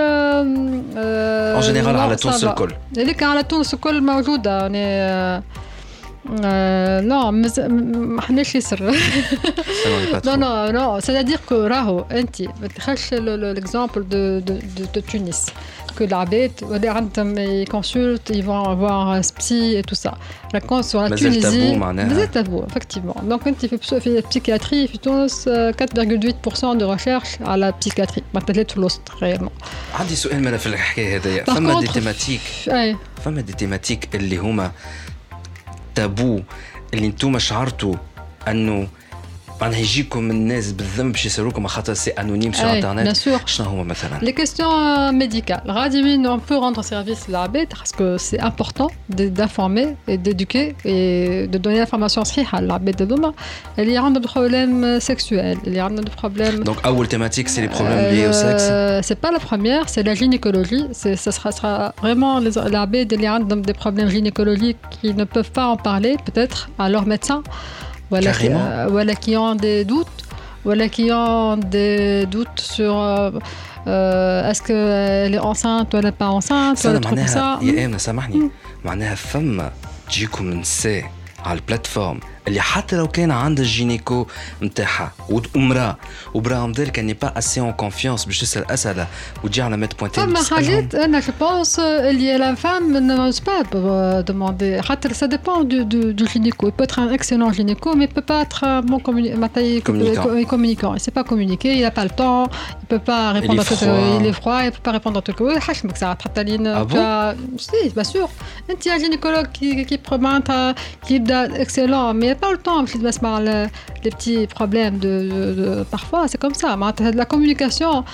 ان جينيرال على تونس الكل هذيك على تونس الكل موجوده يعني نو ما حناش يسر نو نو نو سي كو راهو انت ما تخش ليكزامبل دو دو تونس que l'Abed, ils consultent, ils vont avoir un psy et tout ça. Raconte sur la mais Tunisie. C'est tabou, effectivement. Donc, quand tu fais la psychiatrie, il y quatre virgule huit pour cent de recherche à la psychiatrie. ما تلات فلوس réellement. عندي سؤال مالا في الحكاية هذايا. فما دي تيماتيك. فما دي تيماتيك اللي هما تابو اللي انتم شعرتوا انه معناها يجيكم الناس بالذنب باش يسالوكم خاطر سي انونيم sur internet شنو هو مثلا les questions médicales غادي on peut rendre service à l'Abed parce que c'est important d'informer et d'éduquer et de donner l'information صحيحه للعباد هذوما اللي عندهم problèmes sexuels اللي عندهم problèmes donc اول thématique c'est les problèmes liés au sexe c'est pas la première c'est la gynécologie c'est ça sera, sera vraiment les العباد اللي عندهم des problèmes gynécologiques qui ne peuvent pas en parler peut-être à leur médecin Voilà qui, euh, voilà qui ont des doutes, voilà qui ont des doutes sur euh, est-ce qu'elle est enceinte ou elle n'est pas enceinte, ou elle trouve ça. يا أمنة سامحني معناها فما تجيكم نساء على البلاتفورم اللي حتى لو كان عندها الجينيكو نتاعها ومراه وبراهم ذلك اني با اسي اون كونفيونس باش تسال اسئله وتجي على ميت بوينتين فما حاجات انا جو بونس اللي لا فام نوز با دوموندي حتى سا ديبون دو دو جينيكو il peut être un excellent gynéco mais il peut pas être un bon communicant communicant il sait pas communiquer il a pas le temps il peut pas répondre à tout il est froid il peut pas répondre à tout حشمك ساعات حتى لين سي bien sûr انت يا gynécologue qui qui معناتها qui يبدا excellent mais a pas le temps باش نسمع les petits problèmes de, de, de parfois c'est comme ça معناتها la communication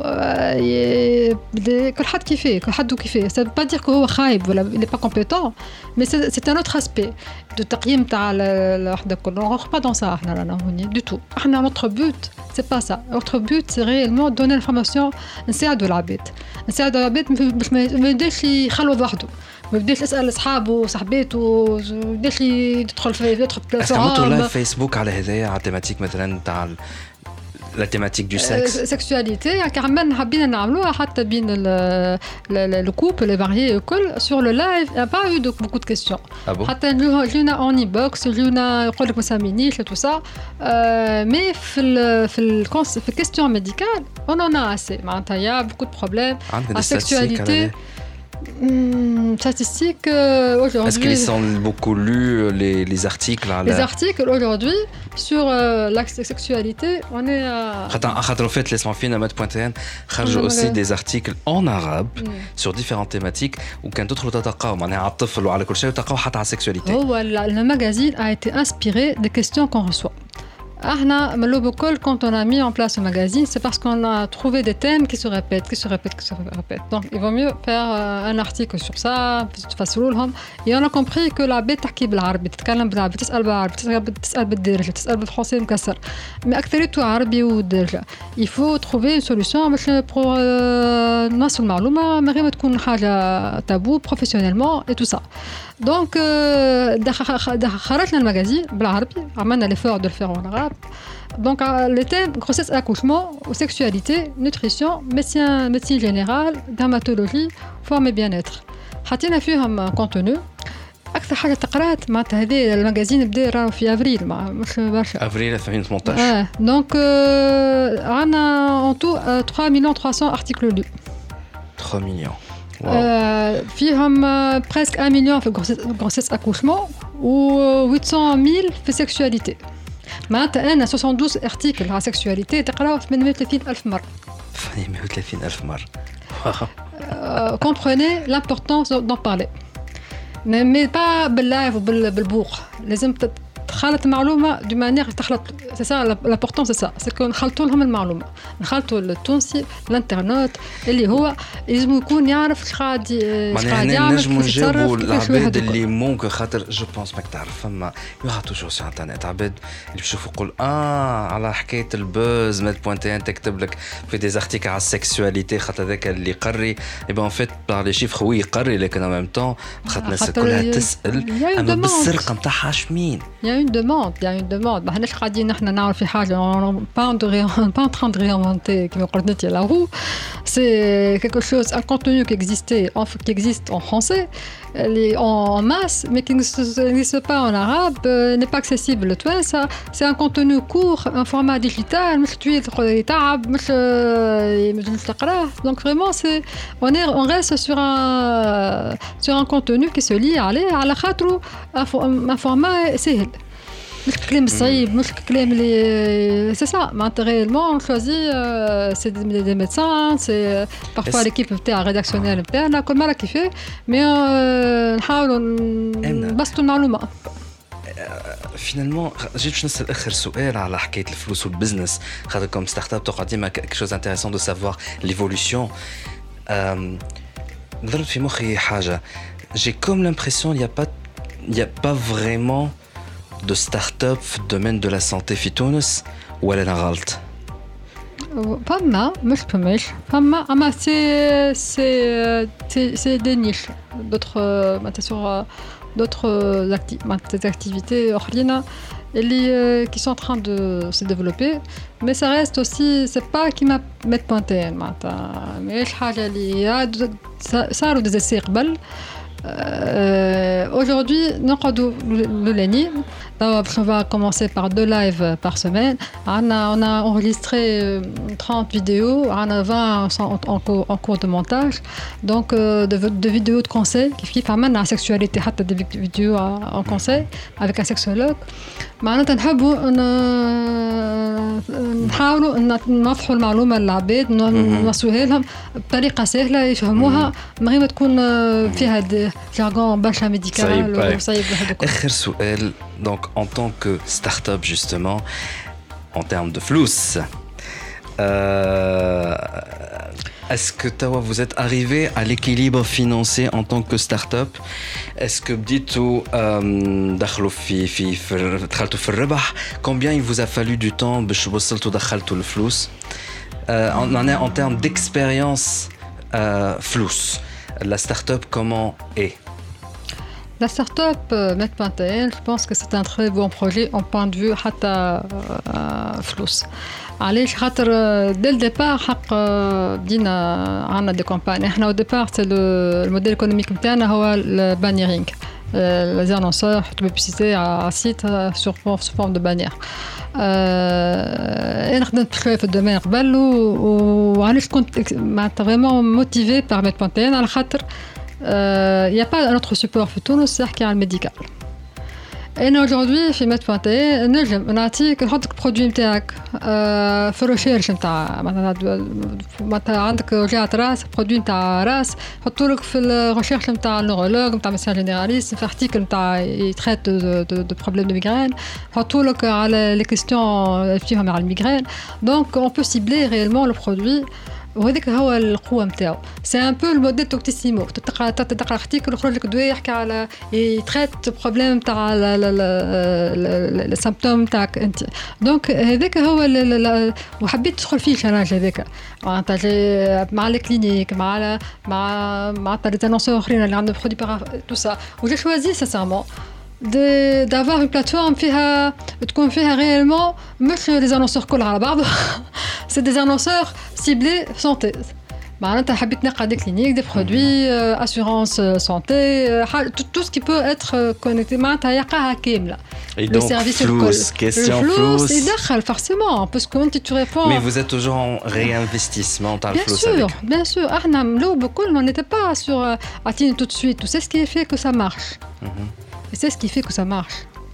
كل حد كيفاه كل حد كيفاه ça veut pas dire que هو خايب ولا il est pas compétent mais c'est, c'est un autre aspect de تقييم تاع الوحده كل on rentre pas dans ça احنا رانا هوني du tout احنا notre but c'est pas ça notre but c'est réellement donner l'information نساعدوا العباد نساعدوا العباد باش ما يبداش يخلوا وحده ما بديش اسال اصحابه وصاحباته بديش يدخل في يدخل في استعملتوا لايف فيسبوك على هذايا على تيماتيك مثلا تاع لا تيماتيك دو سكس سكسواليتي يعني كمان حابين نعملوها حتى بين لو كوبل لي فاريي الكل سور لو لايف يا با يو دو بوكو دو كيسيون حتى جينا اوني بوكس جينا يقول لك ما سامينيش تو سا مي في ال في ال في الكيستيون ميديكال اون اون ا اسي معناتها يا بوكو دو بروبليم ا سكسواليتي Mmh, statistiques euh, aujourd'hui. Est-ce qu'ils sont beaucoup lus les, les articles à la... Les articles aujourd'hui sur euh, la sexualité, on est à. خاطر en fait laisse-moi finir à mettre.tn خرجوا aussi des articles en arabe mm. sur différentes thématiques وكان تدخلوا تلقاو معناها على الطفل وعلى كل شيء وتلقاو حتى على السكسواليتي. هو le magazine a été inspiré des questions qu'on reçoit. Ahna, Malobokol, quand on a mis en place ce magazine, c'est parce qu'on a trouvé des thèmes qui se répètent, qui se répètent, qui se répètent. Donc, il vaut mieux faire euh, un article sur ça, et on a compris que la bête qui est arabe, تتكلم بالعربي، تسأل بالعربي، تسأل بالدارجة، تسأل بالفرنسي مكسر. Mais أكثريته عربي ودارجة. Il faut trouver une solution pour نوصل المعلومة من غير ما تكون حاجة تابو professionnellement et tout ça. Donc, خرجنا المجازين بالعربي، عملنا l'effort de le faire en arabe. Donc, les thèmes grossesse, accouchement, sexualité, nutrition, médecine, médecine générale, dermatologie, forme et bien-être. حطينا فيهم contenu. أكثر حاجة تقرأت معناتها هذه المجازين بدا راهو في أفريل مش برشا. أفريل ألفين وثمانية عشر. آه. Donc, عنا en tout trois millions trois cents articles lus. trois millions. Euh, فيهم presque un million في grossesse accouchement و huit cent mille في sexualité. معناتها أنا soixante-douze articles على sexualité تقرأوا ثمانمائة وثلاثين ألف مرة. ثمانمائة وثلاثين ألف مرة. euh, comprenez l'importance d'en parler. mais, mais pas باللايف وبالبوق. لازم تخلط المعلومة دو مانيير تخلط. c'est ça l'important c'est ça. c'est que نخلطوا لهم المعلومة. نخلطوا التونسي الانترنت اللي هو لازم يكون يعرف اش قاعد اش قاعد يعمل نجموا نجاوبوا العباد اللي ممكن خاطر جو بونس ماك تعرف فما يوها توجور سي انترنت عباد اللي بيشوفوا يقول اه على حكايه البوز ميت بوان تي ان تكتب لك في دي زارتيكل على السكسواليتي خاطر ذاك اللي يقري اي بون فيت بار لي شيفر هو يقري لكن ان ميم طون خاطر الناس كلها تسال اما بالسرقه نتاعها شمين يا une demande il y a une demande ما حناش قاعدين نحن نعرف في حاجه pas pas en train de réinventer كما قلت la roue c'est quelque chose un contenu qui existait qui existe en français en masse mais qui n'existe pas en arabe euh, n'est pas accessible toi ça c'est un contenu court un format digital مش طويل يتعب مش مش تقراه donc vraiment c'est on est on reste sur un sur un contenu qui se lie عليه على خاطره un format سهل مش كلام صعيب مش كلام اللي c'est ça معناتها réellement on choisit euh, c'est des, des médecins c'est parfois l'équipe نتاع rédactionnelle نتاعنا كل مرة كيفاه mais نحاولوا نبسطوا المعلومة. فينالمون جيت باش نسال اخر سؤال على حكايه الفلوس والبزنس خاطر كوم ستارت اب تقعد ديما quelque chose intéressant de savoir l'évolution. ضربت في مخي حاجه j'ai comme l'impression il y a pas il y a pas vraiment de start-up في الدومين de la santé في تونس ولا انا غلط؟ فما مش فماش فما اما سي سي سي دي نيش d'autres معناتها sur d'autres activités أخرين اللي qui sont en train de se développer mais ça reste aussi c'est pas qui m'a mettre pointé معناتها ماهيش حاجة اللي صاروا des essais قبل. Euh, aujourd'hui, nous on va commencer par deux lives par semaine. On a, on a enregistré trente vidéos, on a vingt en, en, en cours de montage. Donc, euh, de, de vidéos de conseils qui font la sexualité, des vidéos en conseil avec un sexologue. معناتها نحبوا نحاولوا نوضحوا المعلومة للعباد نوصلوها لهم بطريقة سهلة يفهموها من غير ما تكون فيها فيه جارغون برشا ميديكال وصعيب هذوك. اخر سؤال donc en tant que start-up justement en termes de flous euh, est-ce que Tawa vous êtes arrivé à l'équilibre financier en tant que start-up est-ce que بديتوا دخلوا في في دخلتوا في الربح combien il vous a fallu du temps باش وصلتوا دخلتوا الفلوس en en termes d'expérience flous la start-up comment est La start-up euh, Med.tn, je pense que c'est un très bon projet en point de vue حتى فلوس. علاش خاطر dès le départ حق بدينا عندنا دي كومباني. احنا au départ c'est le الموديل économique نتاعنا هو البانيرينغ. Les annonceurs يحطوا publicité à site sur sous forme de bannière. انا خدمت شويه في الدومين قبل وعلاش كنت معناتها vraiment motivé par Med.tn على خاطر il n'y a pas un autre support في تونس يحكي على الميديكال. انا aujourd'hui في Med.tn نجم نعطيك نحطك البرودوي نتاعك في الريشيرش نتاع معناتها عندك وجعة راس برودوي نتاع راس نحطوا لك في الريشيرش نتاع النورولوج نتاع ميديسان جينيراليست في ارتيكل نتاع يتريت دو بروبليم دو ميغرين نحطوا لك على لي كيستيون فيهم على الميغرين دونك اون بو سيبلي ريالمون لو برودوي وهذاك هو القوه نتاعو سي ان بو الموديل توكتيسيمو تقرا تقرا ارتيكل يخرج لك دواء يحكي على يتريت بروبليم تاع السيمبتوم تاعك انت دونك هذاك هو وحبيت تدخل فيه الشراج هذاك معناتها مع الكلينيك مع مع مع لي انونسور اخرين اللي عندهم برودوي تو سا وجي شوازي سانسيرمون de d'avoir une plateforme فيها تكون فيها réellement مش les annonceurs كل على بعض c'est des annonceurs ciblés santé معناتها حبيت نلقى des cliniques des produits euh, assurance santé euh, tout, tout ce qui peut être connecté معناتها يلقاها كاملة et donc flous question flous يدخل forcément parce que quand tu réponds mais vous êtes toujours en réinvestissement dans le flous bien sûr bien sûr احنا ملو بكل on n'était pas sur attendre tout de suite c'est ce qui fait que ça marche et c'est ce qui fait que ça marche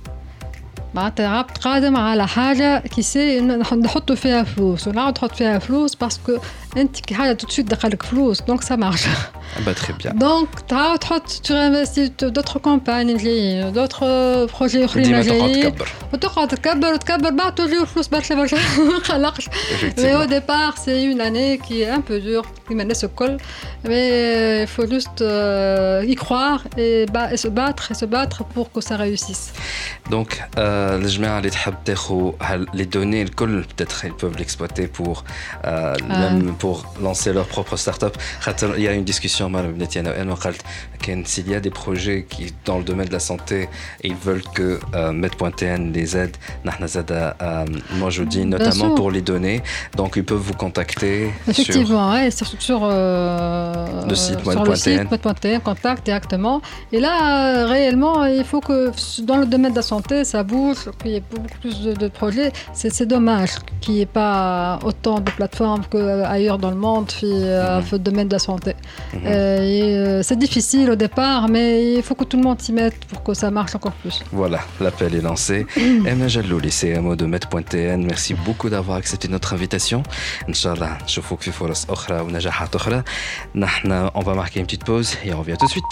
معناتها عبد قادم على حاجة كي سي نحطوا فيها فلوس ونعاود نحط فيها فلوس باسكو انت كي حاجة tout de suite دخلك فلوس دونك ça marche bah très bien donc تعاود تحط tu investis d'autres campagnes جايين d'autres projets اخرين جايين وتقعد تكبر وتكبر بعد تجيو فلوس برشا برشا ما نقلقش mais au départ c'est une année qui est un peu dure كيما الناس الكل mais il faut juste euh, y croire et, ba- et se battre et se battre pour que ça réussisse donc euh, الجماعة اللي تحب تاخو les données الكل peut-être ils peuvent l'exploiter pour euh, ah. même pour lancer leur propre start-up il y a une discussion مع بنتي أنا وأنا قلت كان s'il y a des projets qui dans le domaine de la santé et ils veulent que euh, Med.tn les aide نحن زاد موجودين notamment pour les données donc ils peuvent vous contacter effectivement sur, ouais, sur, sur euh, le site Med.tn contact directement et là euh, réellement il faut que dans le domaine de la santé ça bouge qu'il y ait beaucoup plus de, de projets c'est, c'est dommage qu'il n'y ait pas autant de plateformes qu'ailleurs dans le monde في, mm-hmm. في le domaine de la santé mm-hmm. euh, et, euh, c'est difficile au départ mais il faut que tout le monde s'y mette pour que ça marche encore plus voilà l'appel est lancé Emna Jallouli C M O de Med.tn merci beaucoup d'avoir accepté notre invitation Inch'Allah نشوفوك في فرص أخرى ونجاحات أخرى نحن on va marquer une petite pause et on revient tout de suite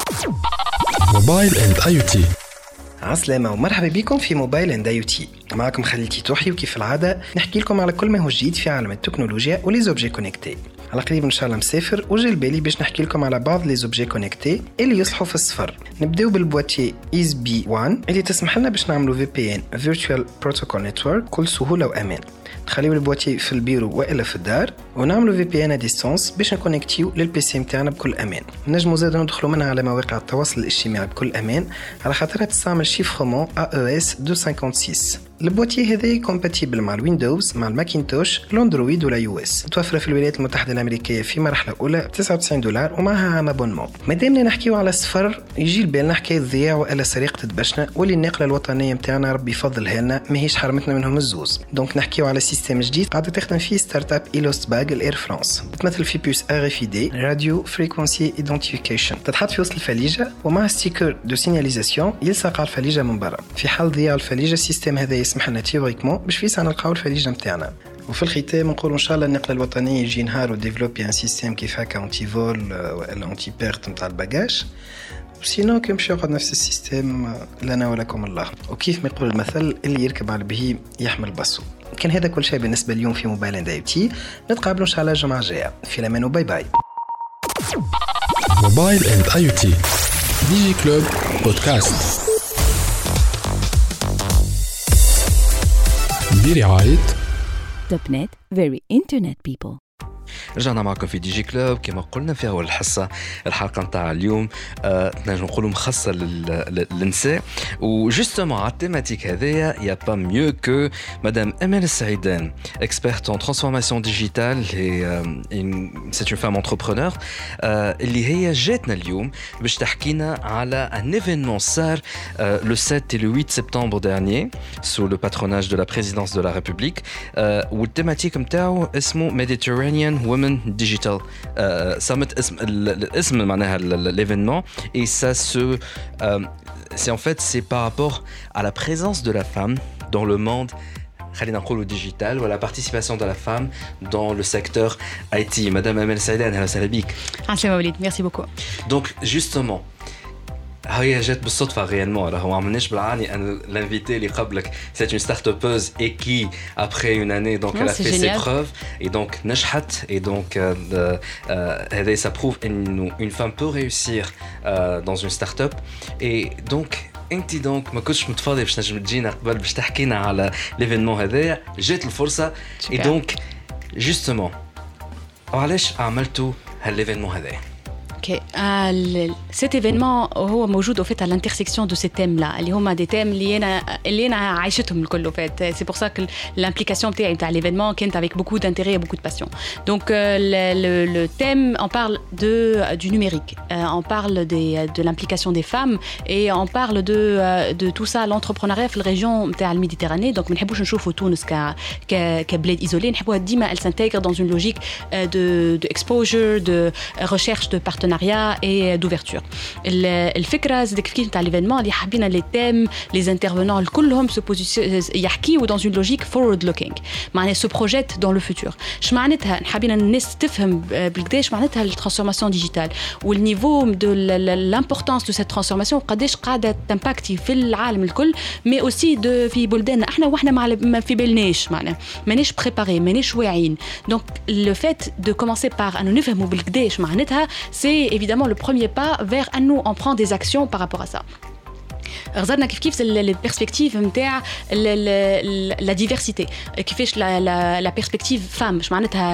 Mobile and آي أو تي عسلامة ومرحبا بكم في موبايل اند اي او تي معكم خليتي توحي وكيف العادة نحكي لكم على كل ما هو جديد في عالم التكنولوجيا ولي زوبجي كونيكتي على قريب ان شاء الله مسافر وجا بالي باش نحكي لكم على بعض لي زوبجي كونيكتي اللي يصلحوا في السفر نبداو بالبواتي إيز بي واحد اللي تسمح لنا باش نعملوا في بي ان Virtual Protocol Network بكل سهولة وأمان نخليو البواتي في البيرو والا في الدار ونعملوا في بي ان ديستانس باش نكونيكتيو للبي سي نتاعنا بكل امان نجموا زاد ندخلوا منها على مواقع التواصل الاجتماعي بكل امان على خاطرها تستعمل شيفرمون إيه إو إس مئتين وستة وخمسين البواتي هذا كومباتيبل مع الويندوز مع الماكينتوش الاندرويد ولا يو اس متوفره في الولايات المتحده الامريكيه في مرحله اولى ب تسعة وتسعين دولار ومعها عام ابونمون مادامنا نحكيو على السفر يجي لبالنا حكايه ضياع والا سرقه دبشنا واللي النقله الوطنيه نتاعنا ربي يفضلها لنا ماهيش حرمتنا منهم الزوز دونك نحكيو على سيستم جديد قاعده تخدم فيه ستارت اب إيلوست باغ الاير فرانس تمثل في بوس ار اف دي راديو فريكونسي ايدنتيفيكيشن تتحط في وسط الفليجه ومع ستيكر دو سيناليزاسيون يلصق على الفليجه من برا في حال ضياع الفليجه السيستم هذا يسمح لنا تيوريكمون باش فيسع نلقاو الفليجه نتاعنا وفي الختام نقول ان شاء الله النقله الوطنيه يجي نهار وديفلوبي ان سيستم كيف هكا انتي فول ولا انتي بيرت نتاع الباجاج وسينو كي يمشي يقعد نفس السيستم لنا ولكم الله. وكيف ما يقول المثل اللي يركب على البهيم يحمل بصو. كان هذا كل شيء بالنسبه اليوم في موبايل اند اي تي. نتقابلوا ان شاء الله الجمعه الجايه في الامان وباي باي. موبايل اند اي تي ديجي كلوب بودكاست برعاية توب نت very internet people. رجعنا معكم في دي جي كلوب. كما قلنا في أول الحصة الحلقة متاع اليوم آه، نجم نقولوا مخصصة للنساء وجستمون على التيماتيك هذايا يا با ميو كو مدام أمال السعيدان experte en transformation digitale et c'est une femme entrepreneur اللي هي جاتنا اليوم باش تحكينا على un événement صار le sept et le huit septembre dernier sous le patronage de la présidence de la République والتيماتيك متاعو اسمه Mediterranean Women Digital euh, Summit. الاسم معناها l'événement et ça se euh, c'est en fait c'est par rapport à la présence de la femme dans le monde خلينا نقولوا digital ou la participation de la femme dans le secteur I T. Madame Amel Saïdan, أهلا وسهلا بك. أهلا وليد, merci beaucoup. Donc justement هي جات بالصدفة réellement. Alors on عملناش بالعاني أن l'invité اللي قبلك c'est une start-upeuse et qui après une année donc non, elle a fait génial. Ses preuves et donc نجحت et donc هذا ça prouve إنه une femme peut réussir euh, dans une start-up et donc انت دونك ما كنتش متفاضي باش نجم تجينا قبل باش تحكينا على ليفينمون هذايا جات الفرصة et donc justement علاش عملتوا هالليفينمون هذايا؟ Ok, euh, cet événement هو موجود au fait à l'intersection de ces thèmes-là. اللي هما des thèmes اللي أنا اللي أنا عايشتهم الكل au fait. C'est pour ça que l'implication بتاعي بتاع l'événement كانت avec beaucoup d'intérêt et beaucoup de passion. Donc euh, le, le, le thème, on parle de du numérique, euh, on parle des, de l'implication des femmes et on parle de euh, de tout ça l'entrepreneuriat في الريجون بتاع الميديتراني. Donc ما نحبوش نشوفوا تونس ك ك كبلاد isolé. نحبوها ديما elle s'intègre dans une logique de de exposure, de recherche de partenariat et d'ouverture. الفكرة زي كيف تاع l'événement اللي حابين les thèmes, les intervenants كلهم se positionnent يحكيوا dans une logique forward looking. معناها se projette dans le futur. اش معناتها حابين الناس تفهم بالقداش معناتها الترانسفورماسيون ديجيتال والنيفو de l'importance de cette transformation قداش قاعدة تمباكتي في العالم الكل mais aussi de في بلداننا احنا واحنا ما في بالناش معناها مانيش بريباري مانيش واعيين. Donc le fait de commencer par أنه نفهموا بالقداش معناتها c'est évidemment le premier pas vers à nous on prend des actions par rapport à ça. غزرنا كيف كيف البيرسبكتيف نتاع لا ديفيرسيتي كيفاش لا لا لا بيرسبكتيف فام اش معناتها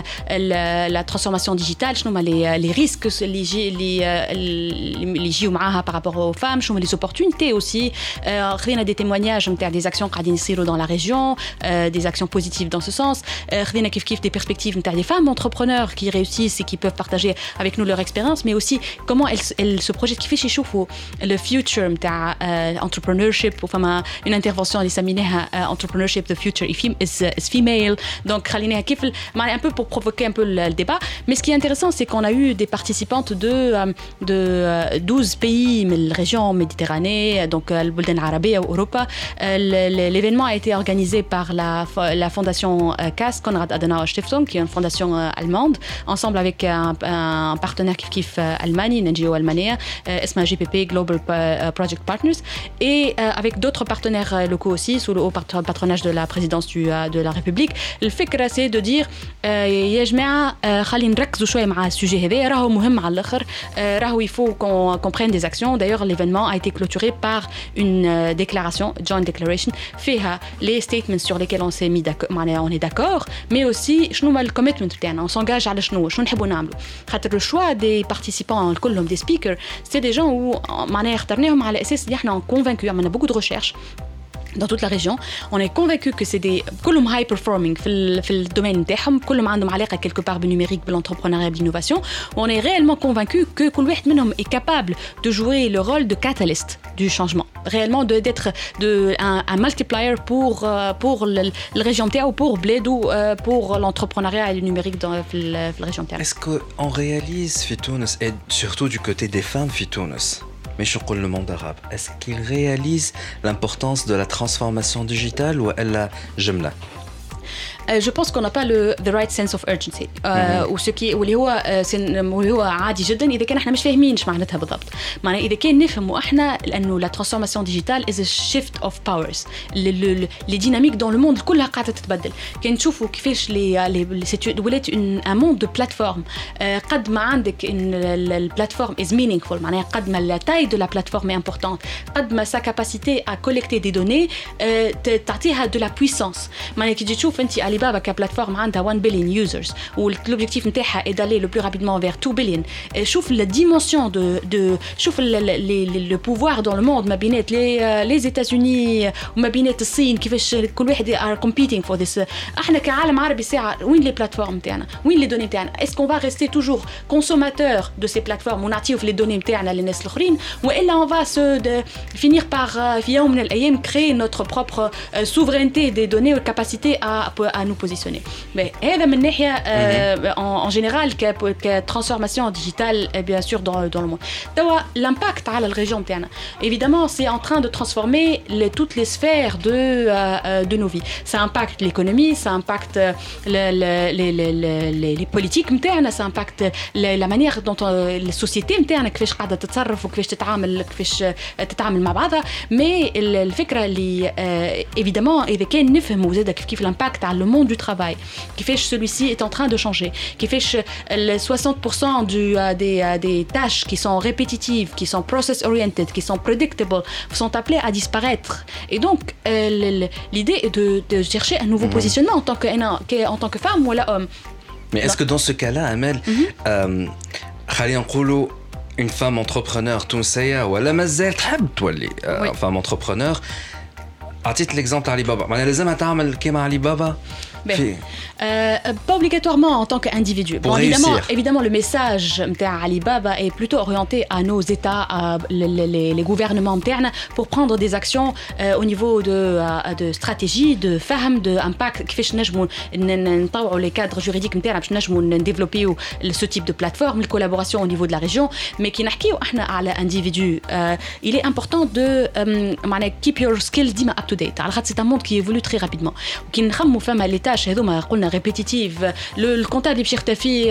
لا ترانسفورماسيون ديجيتال شنو هما لي لي ريسك اللي يجي اللي اللي يجيو معاها بارابور او فام شنو هما لي اوبورتونيتي اوسي خذينا دي تيموانياج نتاع دي اكسيون قاعدين يصيروا dans la région des actions positives dans ce sens خذينا كيف كيف des perspectives نتاع des femmes entrepreneurs qui réussissent et qui peuvent partager avec nous leur expérience mais aussi comment elles elles se projettent كيفاش يشوفوا le future نتاع entrepreneurship وفما une intervention اللي سميناها uh, entrepreneurship the future is, is female. Donc خليناها كيف un peu pour provoquer un peu le, le débat. Mais ce qui est intéressant c'est qu'on a eu des participantes de de douze pays من الريجون Méditerranée donc البلدان العربية وأوروبا. L'événement a été organisé par la la fondation C A S Konrad Adenauer Stiftung qui est une fondation allemande ensemble avec un, un partenaire كيف كيف ألماني une N G O ألمانية اسمها G P P Global Project Partners et euh, avec d'autres partenaires locaux aussi sous le haut patronage de la présidence du, euh, de la République. الفكرة c'est de dire يا جماعة خلينا نركزوا شوية مع السوجي هذا راهو مهم على الآخر راهو il faut qu'on, qu'on prenne des actions. D'ailleurs l'événement a été clôturé par une euh, déclaration, joint declaration فيها les statements sur lesquels on s'est mis d'accord, on est d'accord mais aussi شنو ما الcommitment بتاعنا on s'engage على شنو شنو نحبوا نعملوا خاطر le choix des participants كلهم des speakers c'est des gens où معناها اخترناهم على أساس اللي احنا convaincus on a beaucoup de recherches dans toute la région. On est convaincu que c'est des كلهم high performing في ال في الدومين نتاعهم كلهم عندهم علاقة quelque part بالنumérique بالentrepreneuriat بالinnovation. On est réellement convaincu que كل واحد منهم est capable de jouer le rôle de catalyst du changement. Réellement de d'être de un, un multiplier pour pour la région نتاعو pour بلادو pour l'entrepreneuriat et le numérique dans في la région نتاعنا. Est-ce qu'on réalise في تونس et surtout du côté des femmes في تونس mais je crois le monde arabe est-ce qu'il réalise l'importance de la transformation digitale ou elle la jumla je pense qu'on n'a pas le the right sense of urgency وشكي واللي هو واللي هو عادي جدا اذا كان احنا مش فاهمين ايش معناتها بالضبط. معناها اذا كان نفهموا احنا لانه la transformation digitale is a shift of powers. les dynamiques dans le monde كلها قاعده تتبدل. كان نشوفوا كيفاش لي ولات un monde de plateforme. قد ما عندك ان البلاتفورم is meaningful معناها قد ما la taille de la plateforme est importante قد ما sa capacité à collecter des données تعطيها de la puissance. معناها كي تجي تشوف انت Alibaba كبلاتفورم عندها one billion users والobjectif نتاعها est d'aller le plus rapidement vers two billion. شوف la dimension de de شوف le pouvoir dans le monde ما بينات les les États-Unis وما بينات الصين كيفاش كل واحد are competing for this. احنا كعالم عربي ساعه وين les plateformes تاعنا وين les données تاعنا. Est-ce qu'on va rester toujours consommateur de ces plateformes ونعطيو في les données تاعنا للناس الاخرين والا on va se de, finir par في يوم من الايام créer notre propre uh, souveraineté des données ou capacité à à nous positionner. Mais هذا من ناحيه uh, en, en général que que transformation digitale bien sûr dans dans le monde. توا l'impact على الريجون تاعنا évidemment c'est en train de transformer les, toutes les sphères de uh, de nos vies. Ça impacte l'économie, ça impacte le, le, les les les les politiques نتاعنا, ça impacte la, la manière dont السوسيتي نتاعنا كيفاش قاعده تتصرف وكيفاش تتعامل كيفاش تتعامل مع بعضها. مي الفكره اللي évidemment اذا كان نفهموا زاده كيف كيف l'impact على le monde du travail كيفاش celui-ci est en train de changer كيفاش soixante pour cent du des des tâches qui sont répétitives qui sont process oriented qui sont predictable sont appelées à disparaître. Et donc euh, l'idée est de, de chercher un nouveau mmh. positionnement en tant que en tant que femme ou homme. Mais est-ce que dans ce cas-là Amel خلينا نقولوا une femme entrepreneur تونسية ولا مازال تحب تولي oui. femme entrepreneur عطيت l'exemple علي بابا معناها لازمها تعمل كيما علي بابا Euh, pas obligatoirement en tant qu'individu. Bon, évidemment, évidemment, le message de Alibaba est plutôt orienté à nos États, à les, les, les gouvernements internes, pour prendre des actions euh, au niveau de, euh, de stratégie, de fahm, d'impact, qui fait que les cadres juridiques internes, pour développer ce type de plateforme, la collaboration au niveau de la région, mais qui n'a à l'individu. Euh, il est important de euh, keep your skills up to date. C'est un monde qui évolue très rapidement. Qui n'a pas à l'état هذوما قلنا ريبيتيتيف الكونتابل اللي باش يختفي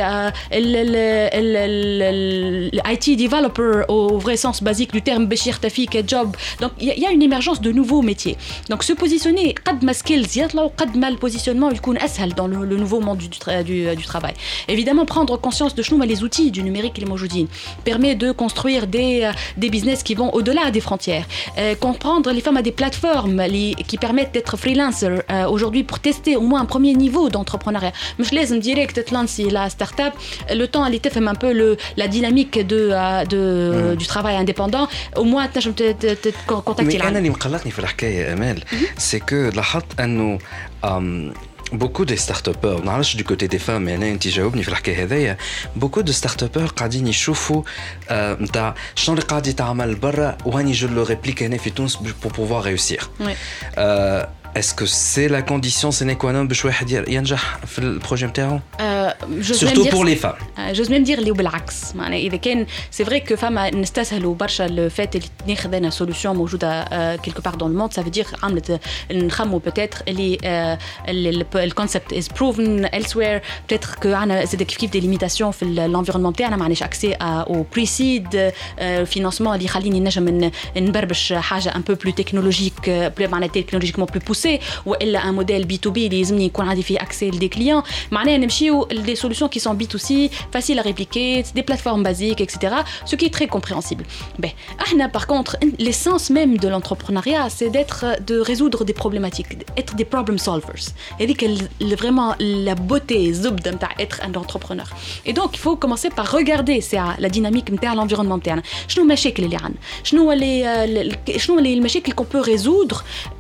الاي تي ديفلوبر او فري سونس بازيك دو تيرم باش يختفي كجوب. دونك يا اون ايمرجونس دو نوفو ميتيي. دونك سو بوزيسيوني قد ما سكيلز يطلعوا قد ما البوزيسيونمون يكون اسهل dans le nouveau monde du, du, du travail. Évidemment, prendre conscience de شنو les outils du numérique اللي موجودين permet de construire des des business qui vont au-delà des frontières. Euh, comprendre les femmes à des plateformes li, qui permettent d'être freelancer euh, aujourd'hui pour tester au moins un premier niveau d'entrepreneuriat. مش لازم direct تلانسي la start-up. Le temps اللي تفهم un peu le la dynamique de de mm. du travail indépendant. Au moins تنجم تكونتاكتي. أنا اللي مقلقني في الحكاية أمال c'est que لاحظت إنه beaucoup de start-upers نعرفش du côté des femmes يعني أنت جاوبني في الحكاية هذيا. beaucoup de start-upers قاعدين يشوفوا نتاع شنو اللي قاعد يتعمل برا وهاني جو لو ريبليك هنا في تونس pour pouvoir réussir. Oui. Euh, Est-ce que c'est la condition sine qua non باش واحد ينجح في البروجي نتاعو؟ Surtout pour les femmes. J'ose même dire اللي بالعكس. معناها إذا كان c'est vrai que femmes نستسهلوا برشا le fait اللي ناخذ أنا solution موجودة quelque part dans le monde. Ça veut dire عملت نخمو peut-être اللي le concept is proven elsewhere. Peut-être que عنا زاد كيف كيف des limitations في l'environnement نتاعنا. ما عندناش accès au pre-seed financement اللي يخليني نجم نبربش حاجة un peu plus technologique, معناها technologiquement plus poussée. والا un modèle بي تو بي اللي لازمني يكون عندي فيه accès لدي كليون. معناها نمشيو des solutions qui sont بي تو سي faciles à répliquer, des plateformes basiques, et cetera. Ce qui est très compréhensible. Ben, ahna, par contre, l'essence même de l'entrepreneuriat, c'est d'être, de résoudre des problématiques, être des problem solvers. Et dit que vraiment la beauté, zubda, être un entrepreneur. Et donc, il faut commencer par regarder la dynamique de l'environnement interne. شنو المشاكل اللي عندنا؟ شنو اللي شنو اللي المشاكل qu'on peut résoudre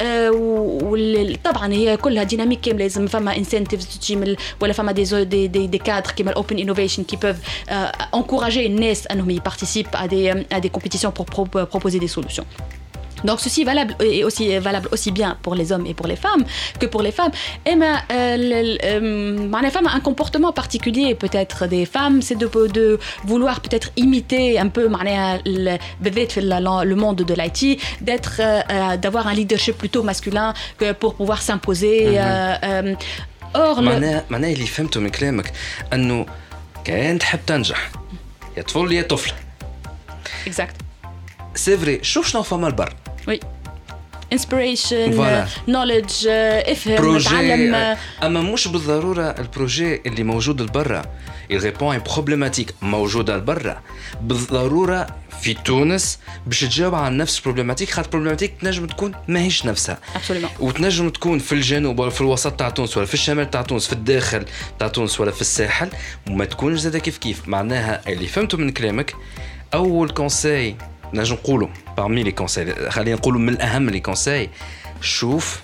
طبعا هي كلها ديناميك كامله. لازم فما انسنتيفز تجي ولا فما دي دي دي, دي كادر كيما الاوبن انوفيشن كي بيف انكوراجي الناس انهم يبارتيسيب à des à des compétitions pour pro- proposer des solutions. Donc ceci est valable et aussi valable aussi bien pour les hommes et pour les femmes que pour les femmes. Et mais euh, femme a un comportement particulier peut-être des femmes, c'est de, de vouloir peut-être imiter un peu le, le monde de l'I T, d'être euh, d'avoir un leadership plutôt masculin que pour pouvoir s'imposer. Mm-hmm. euh, euh, اور معناها معناها اللي فهمته من كلامك انه كان تحب تنجح يا طفل يا طفله اكزاكت سي فري شوف شنو فما البر وي انسبيريشن نوليدج افهم تعلم اما مش بالضروره البروجي اللي موجود لبرا يريبون بروبليماتيك موجوده لبرا بالضروره في تونس باش تجاوب على نفس البروبليماتيك خاطر البروبليماتيك تنجم تكون ماهيش نفسها وتنجم تكون في الجنوب ولا في الوسط تاع تونس ولا في الشمال تاع تونس في الداخل تاع تونس ولا في الساحل وما تكونش زاده كيف كيف معناها اللي فهمته من كلامك اول كونساي نجم نقولوا parmi les conseils خلينا نقولوا من الاهم لي كونساي شوف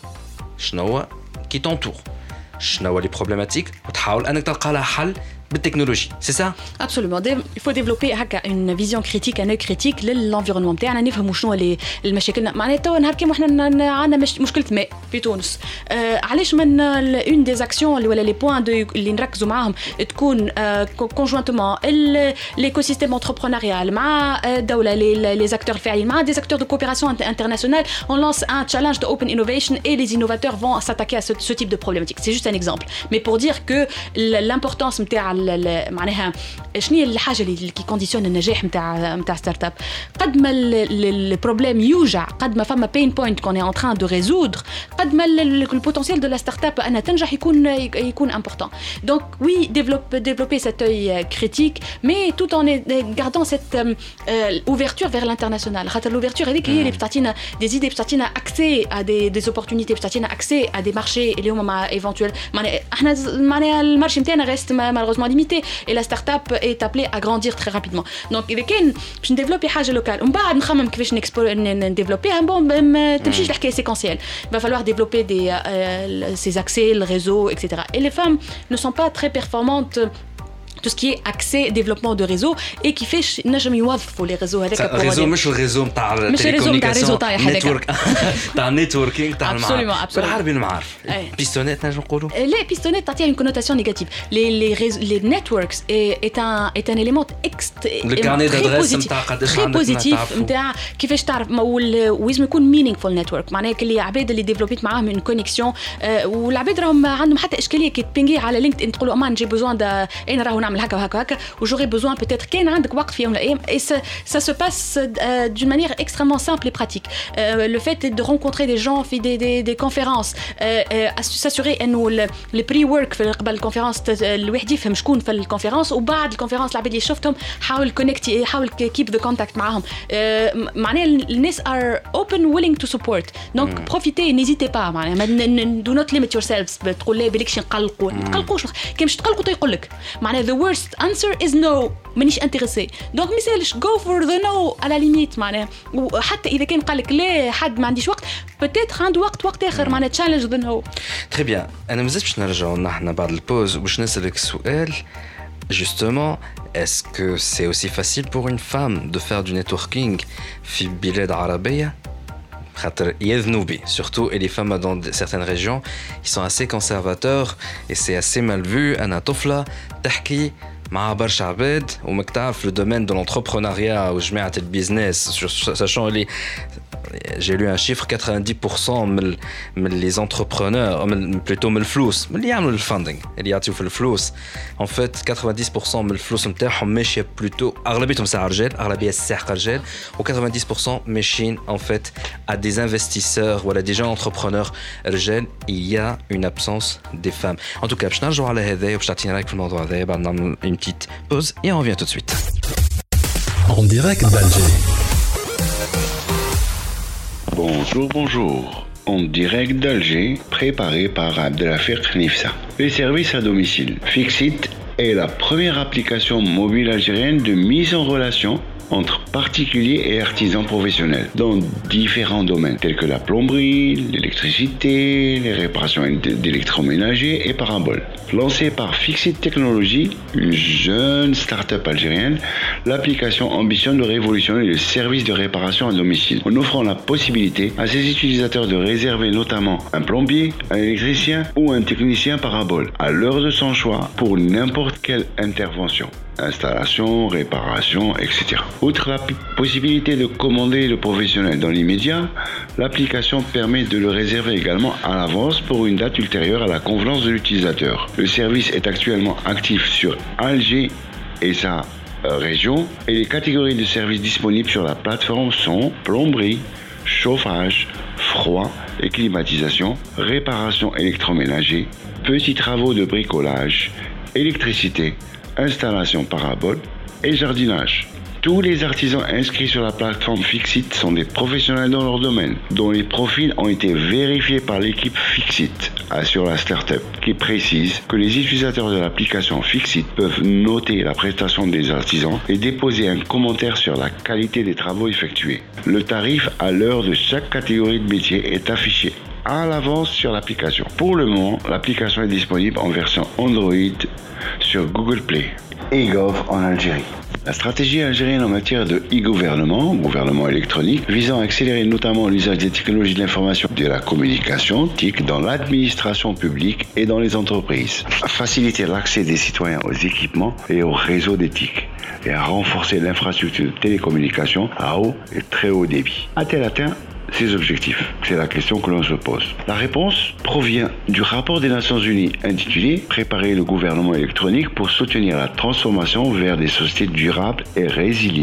شنو كي تونتور شنو لي بروبليماتيك وتحاول انك تلقى لها حل بالتكنولوجي سي سا ابسولومون il faut développer هكا une vision critique un œil critique للانفيرونمون تاعنا نفهموا شنو اللي المشاكل معناتها تو نهار كيما احنا عندنا مشكله ماء في تونس آه علاش من اون دي اكسيون اللي ولا لي بوين اللي نركزوا معاهم تكون كونجوانتمون ليكو سيستيم انتربرونيال مع الدوله لي زاكتور الفاعلين مع دي زاكتور دو كوبيراسيون انترناسيونال on lance un challenge de open innovation et les innovateurs vont s'attaquer à ce, ce type de problématique c'est juste un exemple mais pour dire que l'importance نتاع معناها شنو هي الحاجه اللي كي كونديسيون النجاح نتاع نتاع ستارت اب قد ما البروبليم يوجع قد ما فما بين بوينت كون اي ان تران دو ريزودر قد ما البوتنسيال دو لا ستارت اب انها تنجح يكون يكون امبورطون دونك وي ديفلوب ديفلوبي سيت اوي كريتيك مي توت ان غاردون سيت اوفرتور فير لانترناسيونال خاطر لوفرتور هذيك هي اللي بتعطينا دي زيدي بتعطينا اكسي ا دي دي اوبورتونيتي بتعطينا اكسي ا دي مارشي اللي هما مع ايفونتويل معناها احنا معناها المارشي نتاعنا ريست مالوغوزمون limité et la start-up est appelée à grandir très rapidement. Donc إذا كان باش نديفلوبي حاجة لوكال ومن بعد نخمم كيفاش نكسبو نديفلوبيها bon ما تمشيش الحكاية séquentielle. Il va falloir développer des euh, ces accès, le réseau, et cetera. Et les femmes ne sont pas très performantes tout ce qui est accès développement de réseau et qui fait نجم يوظفوا les réseaux هذاك pour réseau مش الريزو نتاع التليكومونيكاسيون نتورك تاع النتوركينغ تاع المعارف بالعربي المعارف بيستونات نجم نقولوا لا بيستونات تعطيها une connotation négative les les les networks est un est un élément très positif très positif نتاع كيفاش تعرف ولازم يكون meaningful network معناها اللي عباد اللي ديفلوبيت معاهم من كونيكسيون والعباد راهم عندهم حتى اشكاليه كي تبينغي على لينكد تقولوا امان جي بوزوان دا انا راهو نعمل هكا وهكا هكا وجوري بوزوان بوتيتر كان عندك وقت في يوم من الايام et ça ça se passe euh, d'une manière extrêmement simple et pratique euh, le fait de rencontrer des gens في des des des conférences euh, euh, s'assurer انه le pre work في قبل الكونفرنس الواحد يفهم شكون في الكونفرنس وبعد الكونفرنس العباد اللي شفتهم حاول كونيكتي حاول كيب ذا كونتاكت معاهم euh, معناها الناس are open willing to support donc mm. profitez n'hésitez pas معناها do not limit yourselves تقول لا بالك شي نقلقوا تقلقوش كي مش تقلقوا تيقول لك معناها the worst answer is no مانيش انتريسي دونك مثالش go for the no على ليميت معناها وحتى اذا كان قال لك لا حد ما عنديش وقت peut-être عنده وقت وقت اخر معناها challenge the no très bien انا مازلت باش نرجعوا نحن بعد البوز باش نسالك سؤال justement est-ce que c'est aussi facile pour une femme de faire du networking في بلاد عربيه خاطر يذنوا به surtout et les femmes dans certaines régions ils sont assez conservateurs et c'est assez mal vu أنا طفلة تحكي مع برشا عباد وماك تعرف le domaine de l'entrepreneuriat وجماعة البيزنس sachant les j'ai lu un chiffre quatre-vingt-dix pour cent من من les entrepreneurs من plutôt من الفلوس من اللي يعملوا الفاندينغ اللي يعطيو في الفلوس en fait quatre-vingt-dix pour cent من الفلوس نتاعهم ماشيه plutôt اغلبيتهم ساعه رجال اغلبيه ساعه رجال و quatre-vingt-dix pour cent ماشيين en fait à des investisseurs ولا des gens entrepreneurs رجال il y a une absence des femmes en tout cas باش نرجعوا على هذا وباش تعطينا رايك في الموضوع هذا بعد نعمل une petite pause et on revient tout de suite en direct d'Alger. Bonjour, bonjour. En direct d'Alger, préparé par Abdelafir Nifsa. Les services à domicile. Fixit est la première application mobile algérienne de mise en relation entre particuliers et artisans professionnels dans différents domaines tels que la plomberie, l'électricité, les réparations d'électroménager et paraboles. Lancée par Fixit Technologies, une jeune start-up algérienne, l'application ambitionne de révolutionner le service de réparation à domicile en offrant la possibilité à ses utilisateurs de réserver notamment un plombier, un électricien ou un technicien parabole à l'heure de son choix pour n'importe quelle intervention, installation, réparation, et cetera. Outre la p- possibilité de commander le professionnel dans l'immédiat, l'application permet de le réserver également à l'avance pour une date ultérieure à la convenance de l'utilisateur. Le service est actuellement actif sur Alger et sa euh, région, et les catégories de services disponibles sur la plateforme sont plomberie, chauffage, froid et climatisation, réparation électroménager, petits travaux de bricolage, électricité, installation parabole et jardinage. Tous les artisans inscrits sur la plateforme Fixit sont des professionnels dans leur domaine, dont les profils ont été vérifiés par l'équipe Fixit, assure la startup, qui précise que les utilisateurs de l'application Fixit peuvent noter la prestation des artisans et déposer un commentaire sur la qualité des travaux effectués. Le tarif à l'heure de chaque catégorie de métier est affiché à l'avance sur l'application. Pour le moment, l'application est disponible en version Android sur Google Play et Gov en Algérie. La stratégie algérienne en matière de e-gouvernement, gouvernement électronique, visant à accélérer notamment l'usage des technologies de l'information et de la communication, T I C, dans l'administration publique et dans les entreprises, à faciliter l'accès des citoyens aux équipements et aux réseaux des T I C, et à renforcer l'infrastructure de télécommunication à haut et très haut débit. A-t-elle atteint ces objectifs? C'est la question que l'on se pose. La réponse provient du rapport des Nations Unies intitulé « Préparer le gouvernement électronique pour soutenir la transformation vers des sociétés durables et résilientes »,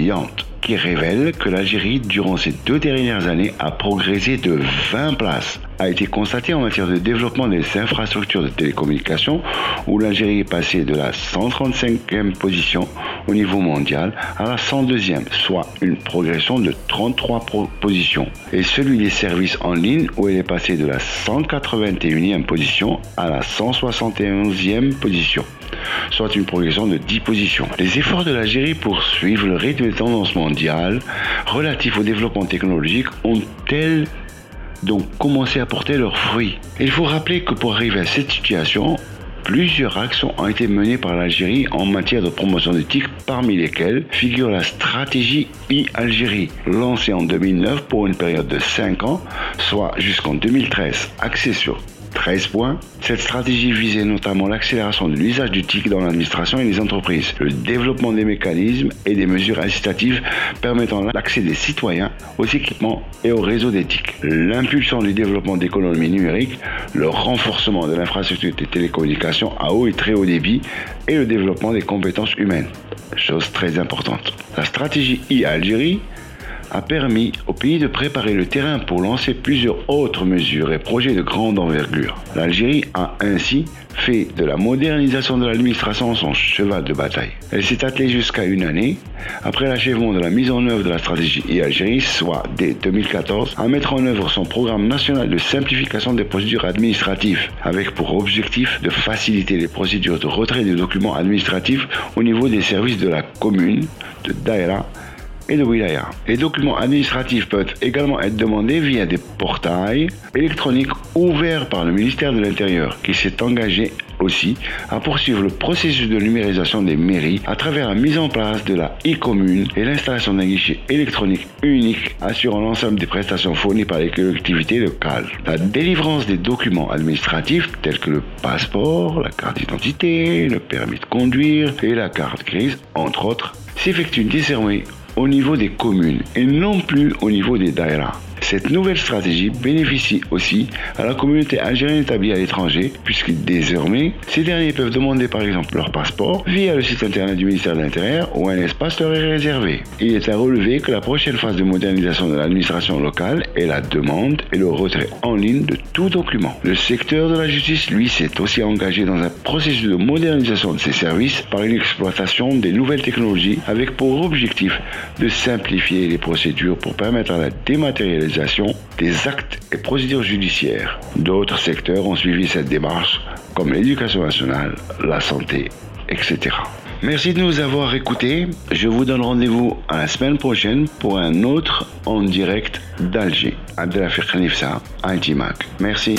qui révèle que l'Algérie, durant ces deux dernières années, a progressé de vingt places. A été constaté en matière de développement des infrastructures de télécommunication, où l'Algérie est passée de la cent trente-cinquième position au niveau mondial à la cent deuxième, soit une progression de trente-trois pro- positions. Et celui des services en ligne, où elle est passée de la cent quatre-vingt-unième position à la cent soixante et onzième position, soit une progression de dix positions. Les efforts de l'Algérie pour suivre le rythme des tendances mondiales relatifs au développement technologique ont-elles donc commencé à porter leurs fruits? Il faut rappeler que pour arriver à cette situation, plusieurs actions ont été menées par l'Algérie en matière de promotion de T I C, parmi lesquelles figure la stratégie e-Algérie, lancée en deux mille neuf pour une période de cinq ans, soit jusqu'en deux mille treize, axée sur treize points. Cette stratégie visait notamment l'accélération de l'usage du T I C dans l'administration et les entreprises, le développement des mécanismes et des mesures incitatives permettant l'accès des citoyens aux équipements et au réseau des T I C, l'impulsion du développement d'économies numériques, le renforcement de l'infrastructure des télécommunications à haut et très haut débit et le développement des compétences humaines, chose très importante. La stratégie e-Algérie a permis au pays de préparer le terrain pour lancer plusieurs autres mesures et projets de grande envergure. L'Algérie a ainsi fait de la modernisation de l'administration son cheval de bataille. Elle s'est attelée jusqu'à une année, après l'achèvement de la mise en œuvre de la stratégie e-Algérie, soit dès deux mille quatorze, à mettre en œuvre son programme national de simplification des procédures administratives, avec pour objectif de faciliter les procédures de retrait des documents administratifs au niveau des services de la commune, de Daïra et de Wilaya. Les documents administratifs peuvent également être demandés via des portails électroniques ouverts par le ministère de l'Intérieur, qui s'est engagé aussi à poursuivre le processus de numérisation des mairies à travers la mise en place de la e-commune et l'installation d'un guichet électronique unique assurant l'ensemble des prestations fournies par les collectivités locales. La délivrance des documents administratifs tels que le passeport, la carte d'identité, le permis de conduire et la carte grise, entre autres, s'effectue désormais au niveau des communes et non plus au niveau des daïras. Cette nouvelle stratégie bénéficie aussi à la communauté algérienne établie à l'étranger, puisque désormais, ces derniers peuvent demander par exemple leur passeport via le site internet du ministère de l'Intérieur où un espace leur est réservé. Il est à relever que la prochaine phase de modernisation de l'administration locale est la demande et le retrait en ligne de tout document. Le secteur de la justice, lui, s'est aussi engagé dans un processus de modernisation de ses services par une exploitation des nouvelles technologies avec pour objectif de simplifier les procédures pour permettre à la dématérialisation des actes et procédures judiciaires. D'autres secteurs ont suivi cette démarche, comme l'éducation nationale, la santé, et cetera. Merci de nous avoir écoutés. Je vous donne rendez-vous à la semaine prochaine pour un autre en direct d'Alger. Abdelafiq Nifsa, I T Mac. Merci.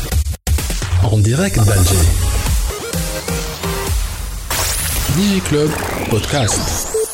En direct d'Alger. DigiClub Podcast.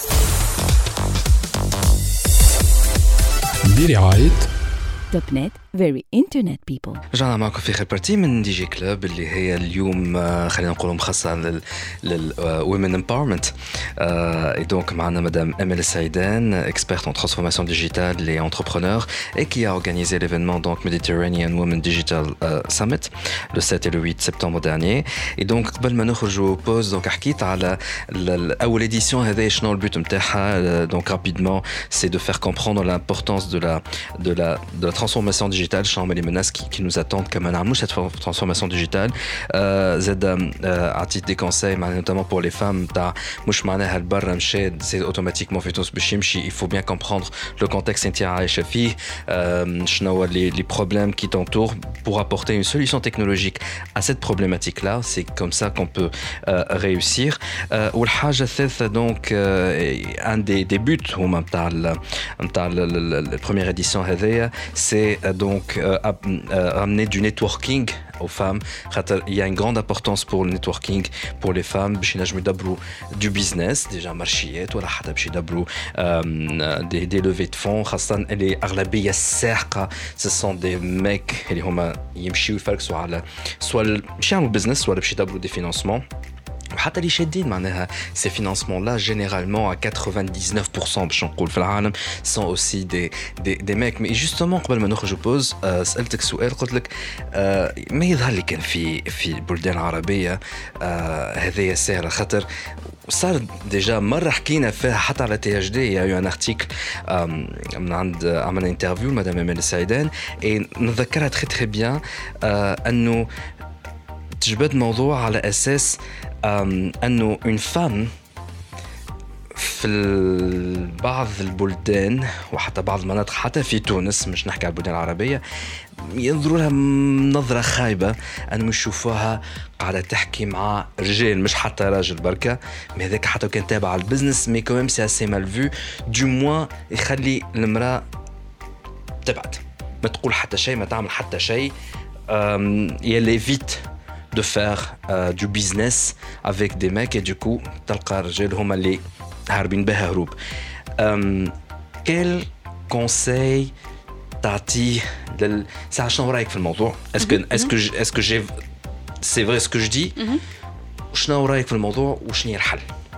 برعاية توب نت very internet people. رجعنا معكم في آخر بارتي من دي جي كلوب اللي هي اليوم خلينا نقول مخصصة لل لل women empowerment. Et donc معنا مدام أمل السعيدان, experte en transformation digitale et entrepreneur, et qui a organisé l'événement donc Mediterranean Women Digital Summit le sept et le huit septembre dernier. Et donc قبل ما نخرجوا pause donc حكيت على أول édition هذه شنو البوت متاعها. Donc rapidement c'est de faire comprendre l'importance de la de la de la transformation digitale, شنو les menaces qui, qui nous attendent كما نعملوا cette transformation digitale. زاد عطيت des conseils notamment pour les femmes تاع مش معناها البر مشى c'est automatiquement في تونس باش يمشي. Il faut bien comprendre le contexte انت عايشه فيه, شنو les les problèmes qui t'entourent pour apporter une solution technologique à cette problématique là. C'est comme ça qu'on peut euh, réussir. والحاجه الثالثه donc euh, un des des buts هما نتاع نتاع la première édition هذيا c'est euh, donc euh, euh, ramener du networking aux femmes. Il y a une grande importance pour le networking pour les femmes باش ينجموا يدبروا du business déjà marchiات ولا حتى باش يدبروا des des levées de fonds, خاصة اللي أغلبية الساحقة ce sont des mecs اللي هما يمشيوا يفركسوا على سواء باش يعملوا business ولا باش يدبروا des financements. وحتى اللي شادين معناها ces financements là généralement à quatre-vingt-dix-neuf pour cent باش نقول في العالم sont aussi des des des mecs. mais justement قبل ما نخرجوا بوز سألتك سؤال, قلت لك ما يظهر لي كان في في البلدان العربية هذه سهلة خاطر صار ديجا مرة حكينا فيها حتى على تي اش دي. يا un article من عند عملنا انترفيو مدام أمل السعيدان et نذكرها très très bien أنه تجبد موضوع على أساس أنه une femme في بعض البلدان وحتى بعض المناطق حتى في تونس, مش نحكي على البلدان العربية, ينظروا لها نظرة خايبة أنهم يشوفوها قاعدة تحكي مع رجال, مش حتى راجل بركة, mais هذاك حتى كان تابع البزنس mais quand même c'est assez mal vu. du moins يخلي المرأة تبعد, ما تقول حتى شيء, ما تعمل حتى شيء, يلي vite de faire euh, du business avec des mecs et du coup تلقى الرجال هما اللي هاربين بها هروب. um, quel conseil تعطيه لل ساعة شنو رأيك في الموضوع؟ est-ce que est-ce que est-ce que j'ai c'est vrai ce que je dis? شنو رأيك في الموضوع وشنو هي الحل؟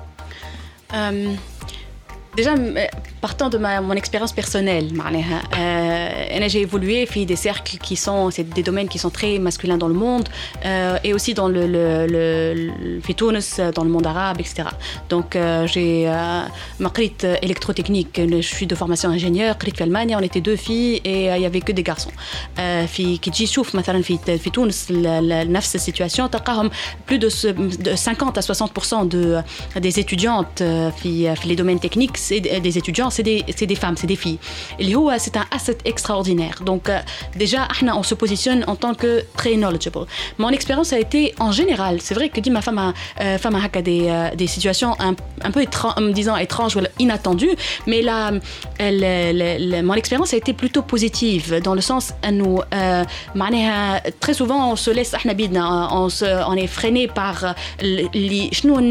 um... Déjà, partant de ma, mon expérience personnelle, euh, j'ai évolué dans des cercles qui sont, c'est des domaines qui sont très masculins dans le monde, euh, et aussi dans le, le, le, le Tunis, dans le monde arabe, et cetera. Donc, euh, j'ai ma qrit électrotechnique, je suis de formation ingénieur, qrit en Allemagne, on était deux filles et il n'y avait que des garçons. في كي تجي تشوف مثلا في في تونس نفس السيتواسيون تلقاهم plus de cinquante à soixante pour cent de des étudiantes في في les domaines techniques, c'est des étudiants, c'est des, c'est des femmes, c'est des filles. Et c'est un asset extraordinaire. Donc, euh, déjà, on se positionne en tant que très knowledgeable. Mon expérience a été en général, c'est vrai que dit ma femme a, euh, femme a des, euh, des situations un, un peu étranges, me disant étranges ou inattendues, mais là, elle, elle, elle, mon expérience a été plutôt positive dans le sens où euh, très souvent on se laisse, on, se, on est freiné par les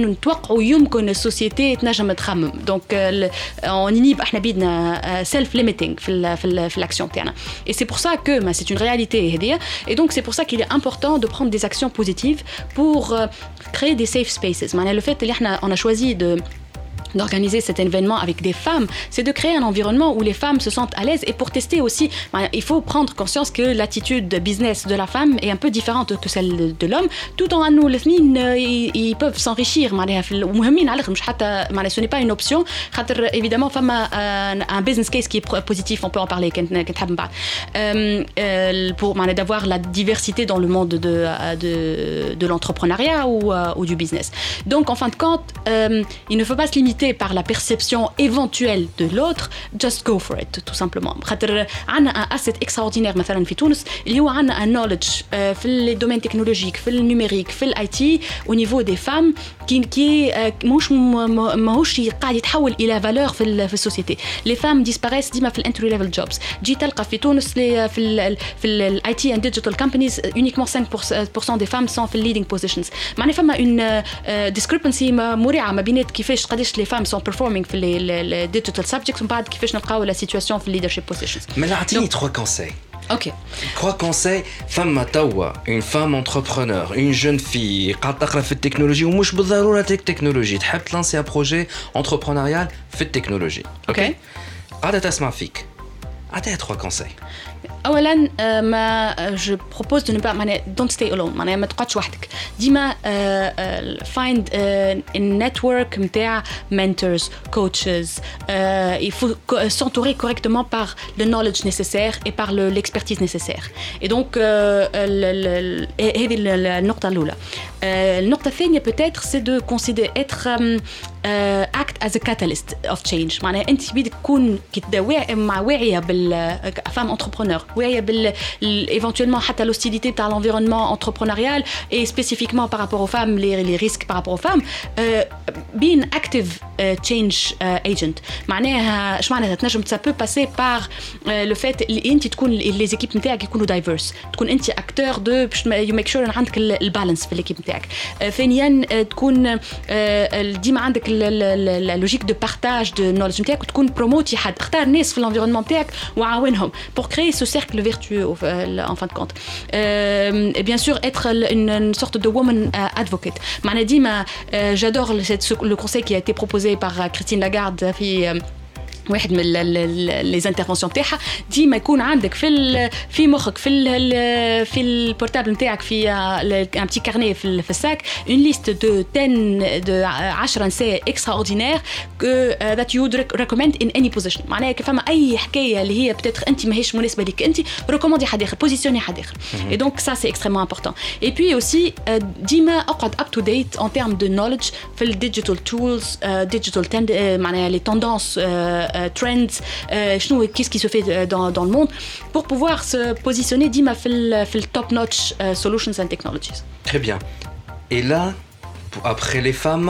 la société. Donc, on inhibe احنا بيدنا self limiting في ال في ال في l'action تاعنا. Et c'est pour ça que bah, c'est une réalité هذه. Et donc c'est pour ça qu'il est important de prendre des actions positives pour euh, créer des safe spaces. معناها le fait اللي احنا on a choisi de d'organiser cet événement avec des femmes, c'est de créer un environnement où les femmes se sentent à l'aise. Et pour tester aussi, il faut prendre conscience que l'attitude de business de la femme est un peu différente que celle de l'homme, tout en nous ils peuvent s'enrichir. Ce n'est pas une option. Évidemment, femme a un business case qui est positif, on peut en parler pour d'avoir la diversité dans le monde de, de, de l'entrepreneuriat ou, ou du business. Donc en fin de compte, il ne faut pas se limiter par la perception éventuelle de l'autre, just go for it, tout simplement. On a un asset extraordinaire مثلا في تونس اللي هو عندنا un knowledge في les domaines technologiques, في النumérique, في ال I T au niveau des femmes qui qui مش ماهوش قاعد يتحول إلى valeur في في السوسيتي. Les femmes disparaissent ديما في entry level jobs. جي تلقى في تونس في ال في ال I T and digital companies uniquement cinq pour cent des femmes sont في leading positions. معناها فما une discrepancy مريعة ما بين كيفاش قداش les femmes sont performing في les digital subjects ومن بعد كيفاش نلقاو la situation في leadership positions. Mais là, عطيني trois conseils. Ok. Trois conseils. Femme tawa, une femme entrepreneur, une jeune fille, قاعدة تقرا في التكنولوجيا ومش بالضرورة تك تكنولوجي تحب تلانسي ان بروجي entrepreneurial في التكنولوجي. اوكي. قاعدة تسمع فيك. عطيها trois conseils. اولا ما je propose de ne pas معناها don't stay alone معناها ما تقعدش وحدك ديما find a network نتاع mentors coaches il faut s'entourer correctement par le knowledge nécessaire et par le, l'expertise nécessaire et donc هذه النقطة الأولى. النقطة الثانية peut-être c'est de considérer être uh, act as a catalyst of change معناها أنت بيدك تكون كده مع واعية بالفام entrepreneur واعية بال éventuellement حتى l'hostilité تاع l'environnement entrepreneurial et spécifiquement par rapport aux femmes les, les risques par rapport aux femmes uh, being active uh, change uh, agent معناها ايش معناتها تنجم ça peut passer par uh, le fait اللي أنت تكون les équipes نتاعك يكونوا diverse تكون أنت acteur de you make sure عندك البالانس في l'équipe نتاعك. ثانيا تكون ديما عندك اللوجيك دو بارتاج دو نولج نتاعك وتكون بروموتي حد اختار ناس في الانفيرونمون نتاعك وعاونهم pour créer ce cercle vertueux en fin de compte. Euh, et bien sûr être une, une sorte de woman advocate. معناها ديما j'adore le conseil qui a été proposé par Christine Lagarde في واحد من les interventions تاعها ديما يكون عندك في في مخك في ال في البورتابل نتاعك في un petit carnet في في الساك une liste de ten de عشرة نساء extraordinaires que that you would recommend in any position معناها كيف فما اي حكايه اللي هي peut-être انت ماهيش مناسبه لك انت ريكوموندي حد اخر بوزيسيوني حد اخر et donc ça c'est extrêmement important et puis aussi ديما اقعد up to date en termes de knowledge في الديجيتال tools digital معناها les tendances trends شنو qu'est-ce qui se fait dans dans le monde pour pouvoir se positionner ديما في ال في top notch solutions and technologies. Très bien. Et là après les femmes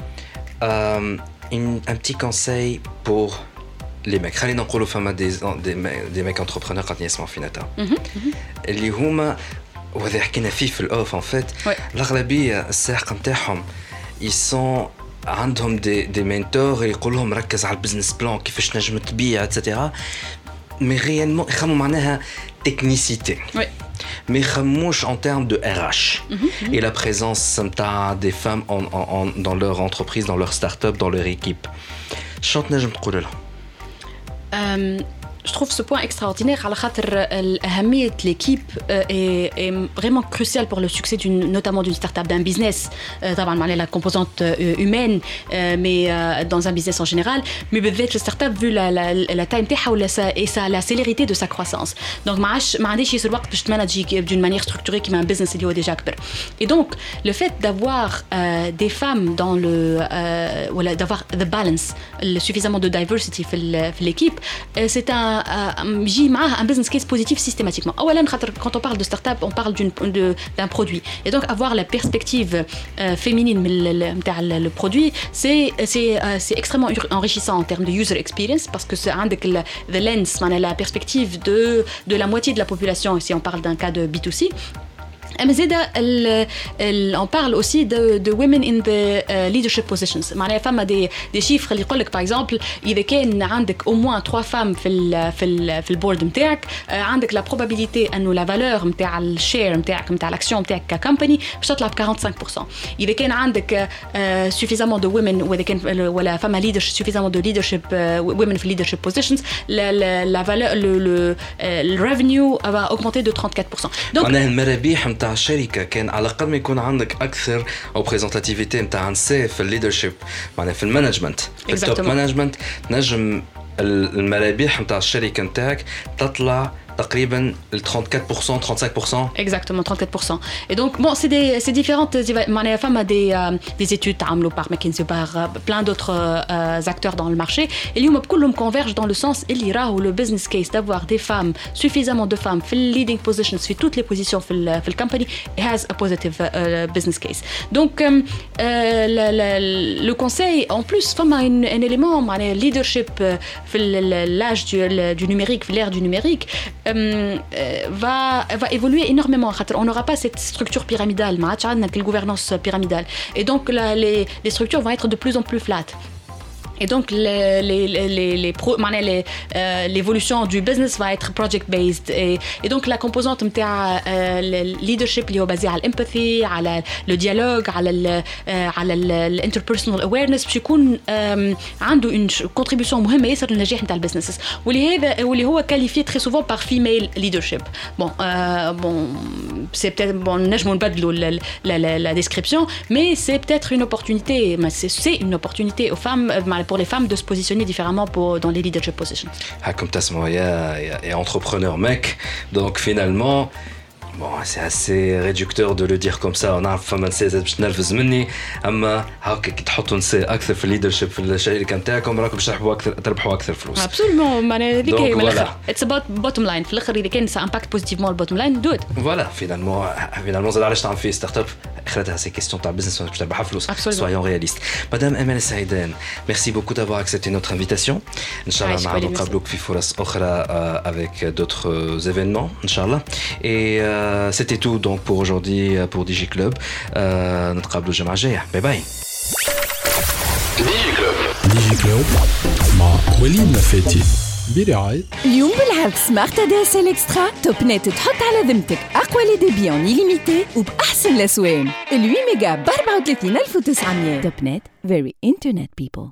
euh, une, un petit conseil pour les mecs. خلينا نقولوا فما des des des mecs entrepreneurs قاعدين يسمعوا فينا تا اللي هما وهذا حكينا فيه في الاوف en fait الأغلبية الساحق نتاعهم ils sont عندهم دي دي مينتور يقول لهم ركز على البزنس بلان كيفاش نجم تبيع اتسيتيرا مي ريالمون يخمموا معناها تكنيسيتي mais يخمموش en termes de R H et la présence نتاع des femmes en, en, en, dans leur entreprise dans leur start-up dans leur équipe شنو تنجم تقول لهم؟ Je trouve ce point extraordinaire على خاطر الأهمية l'équipe est, est vraiment cruciale pour le succès d'une, notamment d'une start-up, d'un business. طبعاً معناها la composante humaine, mais dans un business en général. Mais بالذات le start-up vu la la la taille نتاعها ولا et sa la célérité de sa croissance. Donc ما عادش ما عنديش يصير وقت باش تمانجي d'une manière structurée كيما un business اللي هو déjà كبر. Et donc le fait d'avoir euh, des femmes dans le euh, ولا d'avoir the balance, suffisamment de diversity في في l'équipe, c'est un يجي معاه un business case positif systématiquement. أولاً خاطر quand on parle de start-up on parle d'une de, d'un produit et donc avoir la perspective euh, féminine من نتاع le produit c'est c'est euh, c'est extrêmement enrichissant en termes de user experience parce que c'est عندك the lens معناها la perspective de de la moitié de la population si on parle d'un cas de B two C. Mais on parle aussi de, de women in the uh, leadership positions. معناها فما des des chiffres اللي يقولك par exemple إذا كان عندك au moins trois femmes في ال في ال في البورد نتاعك عندك la probabilité إنه la valeur نتاع الشير نتاعك نتاع الأكسيون نتاعك كcompany باش تطلع ب quarante-cinq pour cent. إذا كان عندك uh, suffisamment de women وإذا كان ولا فما leadership suffisamment de leadership uh, women في leadership positions la la la valeur le le le revenue va augmenter de trente-quatre pour cent. Donc معناها المرابح نتاع الشركة كان على الأقل ما يكون عندك أكثر representativity نتاع نساء في الليدرشيب معناها في المانجمنت في التوب مانجمنت نجم المرابح نتاع الشركة نتاعك تطلع تقريبا trente-quatre pour cent trente-cinq pour cent exactement trente-quatre pour cent et donc bon c'est des c'est différentes معناها فما des euh, des études تعملوا par McKinsey par uh, plein d'autres uh, acteurs dans le marché اللي هما كلهم convergent dans le sens اللي راهو le business case d'avoir des femmes suffisamment de femmes في leading positions في toutes les positions في ال في le company has a positive uh, business case donc um, uh, le, le, le conseil en plus فما un, un élément معناها leadership في l'âge du, du numérique في l'ère du numérique Euh, va, va évoluer énormément. On n'aura pas cette structure pyramidale, une gouvernance pyramidale. Et donc la, les, les structures vont être de plus en plus flat. Et donc, les, les, les, les pro, les, euh, l'évolution du business va être project-based. Et, et donc, la composante de le leadership qui est basée sur l'empathie, sur le dialogue, sur l'interpersonal awareness, باش يكون عنده une contribution مهمة ياسر للنجاح نتاع البزنسز. واللي هذا واللي هو qualifié très souvent par female leadership. Bon, euh, bon, c'est peut-être bon, نجمو نبدلوا la, la, la, la description, mais c'est peut-être une opportunité, c'est, c'est une opportunité aux femmes, pour les femmes de se positionner différemment pour, dans les leadership positions. Ah, comme Tasma, il y a entrepreneur mec, donc finalement, bon, c'est assez réducteur de le dire comme ça. On a فما نساء باش تنرفز مني، اما هاكا كي تحطوا نساء اكثر في الليدرشيب في الشركه نتاعكم راكم باش تربحوا اكثر تربحوا اكثر فلوس. ابسولومون معناها هذيك من الاخر اتس اباوت بوتوم لاين في الاخر اذا كان سا امباكت بوزيتيفمون البوتوم لاين دو ات. فوالا فينالمون فينالمون زاد علاش تعمل في ستارت اب اخرتها سي كيستيون تاع بزنس باش تربح فلوس. سويون رياليست. مدام امال سعيدان ميرسي بوكو دافوار اكسبتي نوتر انفيتاسيون. ان شاء الله نعاودوا نقابلوك في فرص اخرى avec d'autres événements inchallah. Et euh, c'était tout donc pour aujourd'hui pour DigiClub. Euh, نتقابلوا الجمعة الجاية. باي باي. DigiClub DigiClub مع وليد نفاتي برعاية. اليوم بالعرض سمارت دي اس ال اكسترا توب نت تحط على ذمتك اقوى لي ديبي اون ليميتي وباحسن الاسوان. ثمانية ميجا ب أربعة وثلاثين ألف وتسعمية. توب نت very internet people.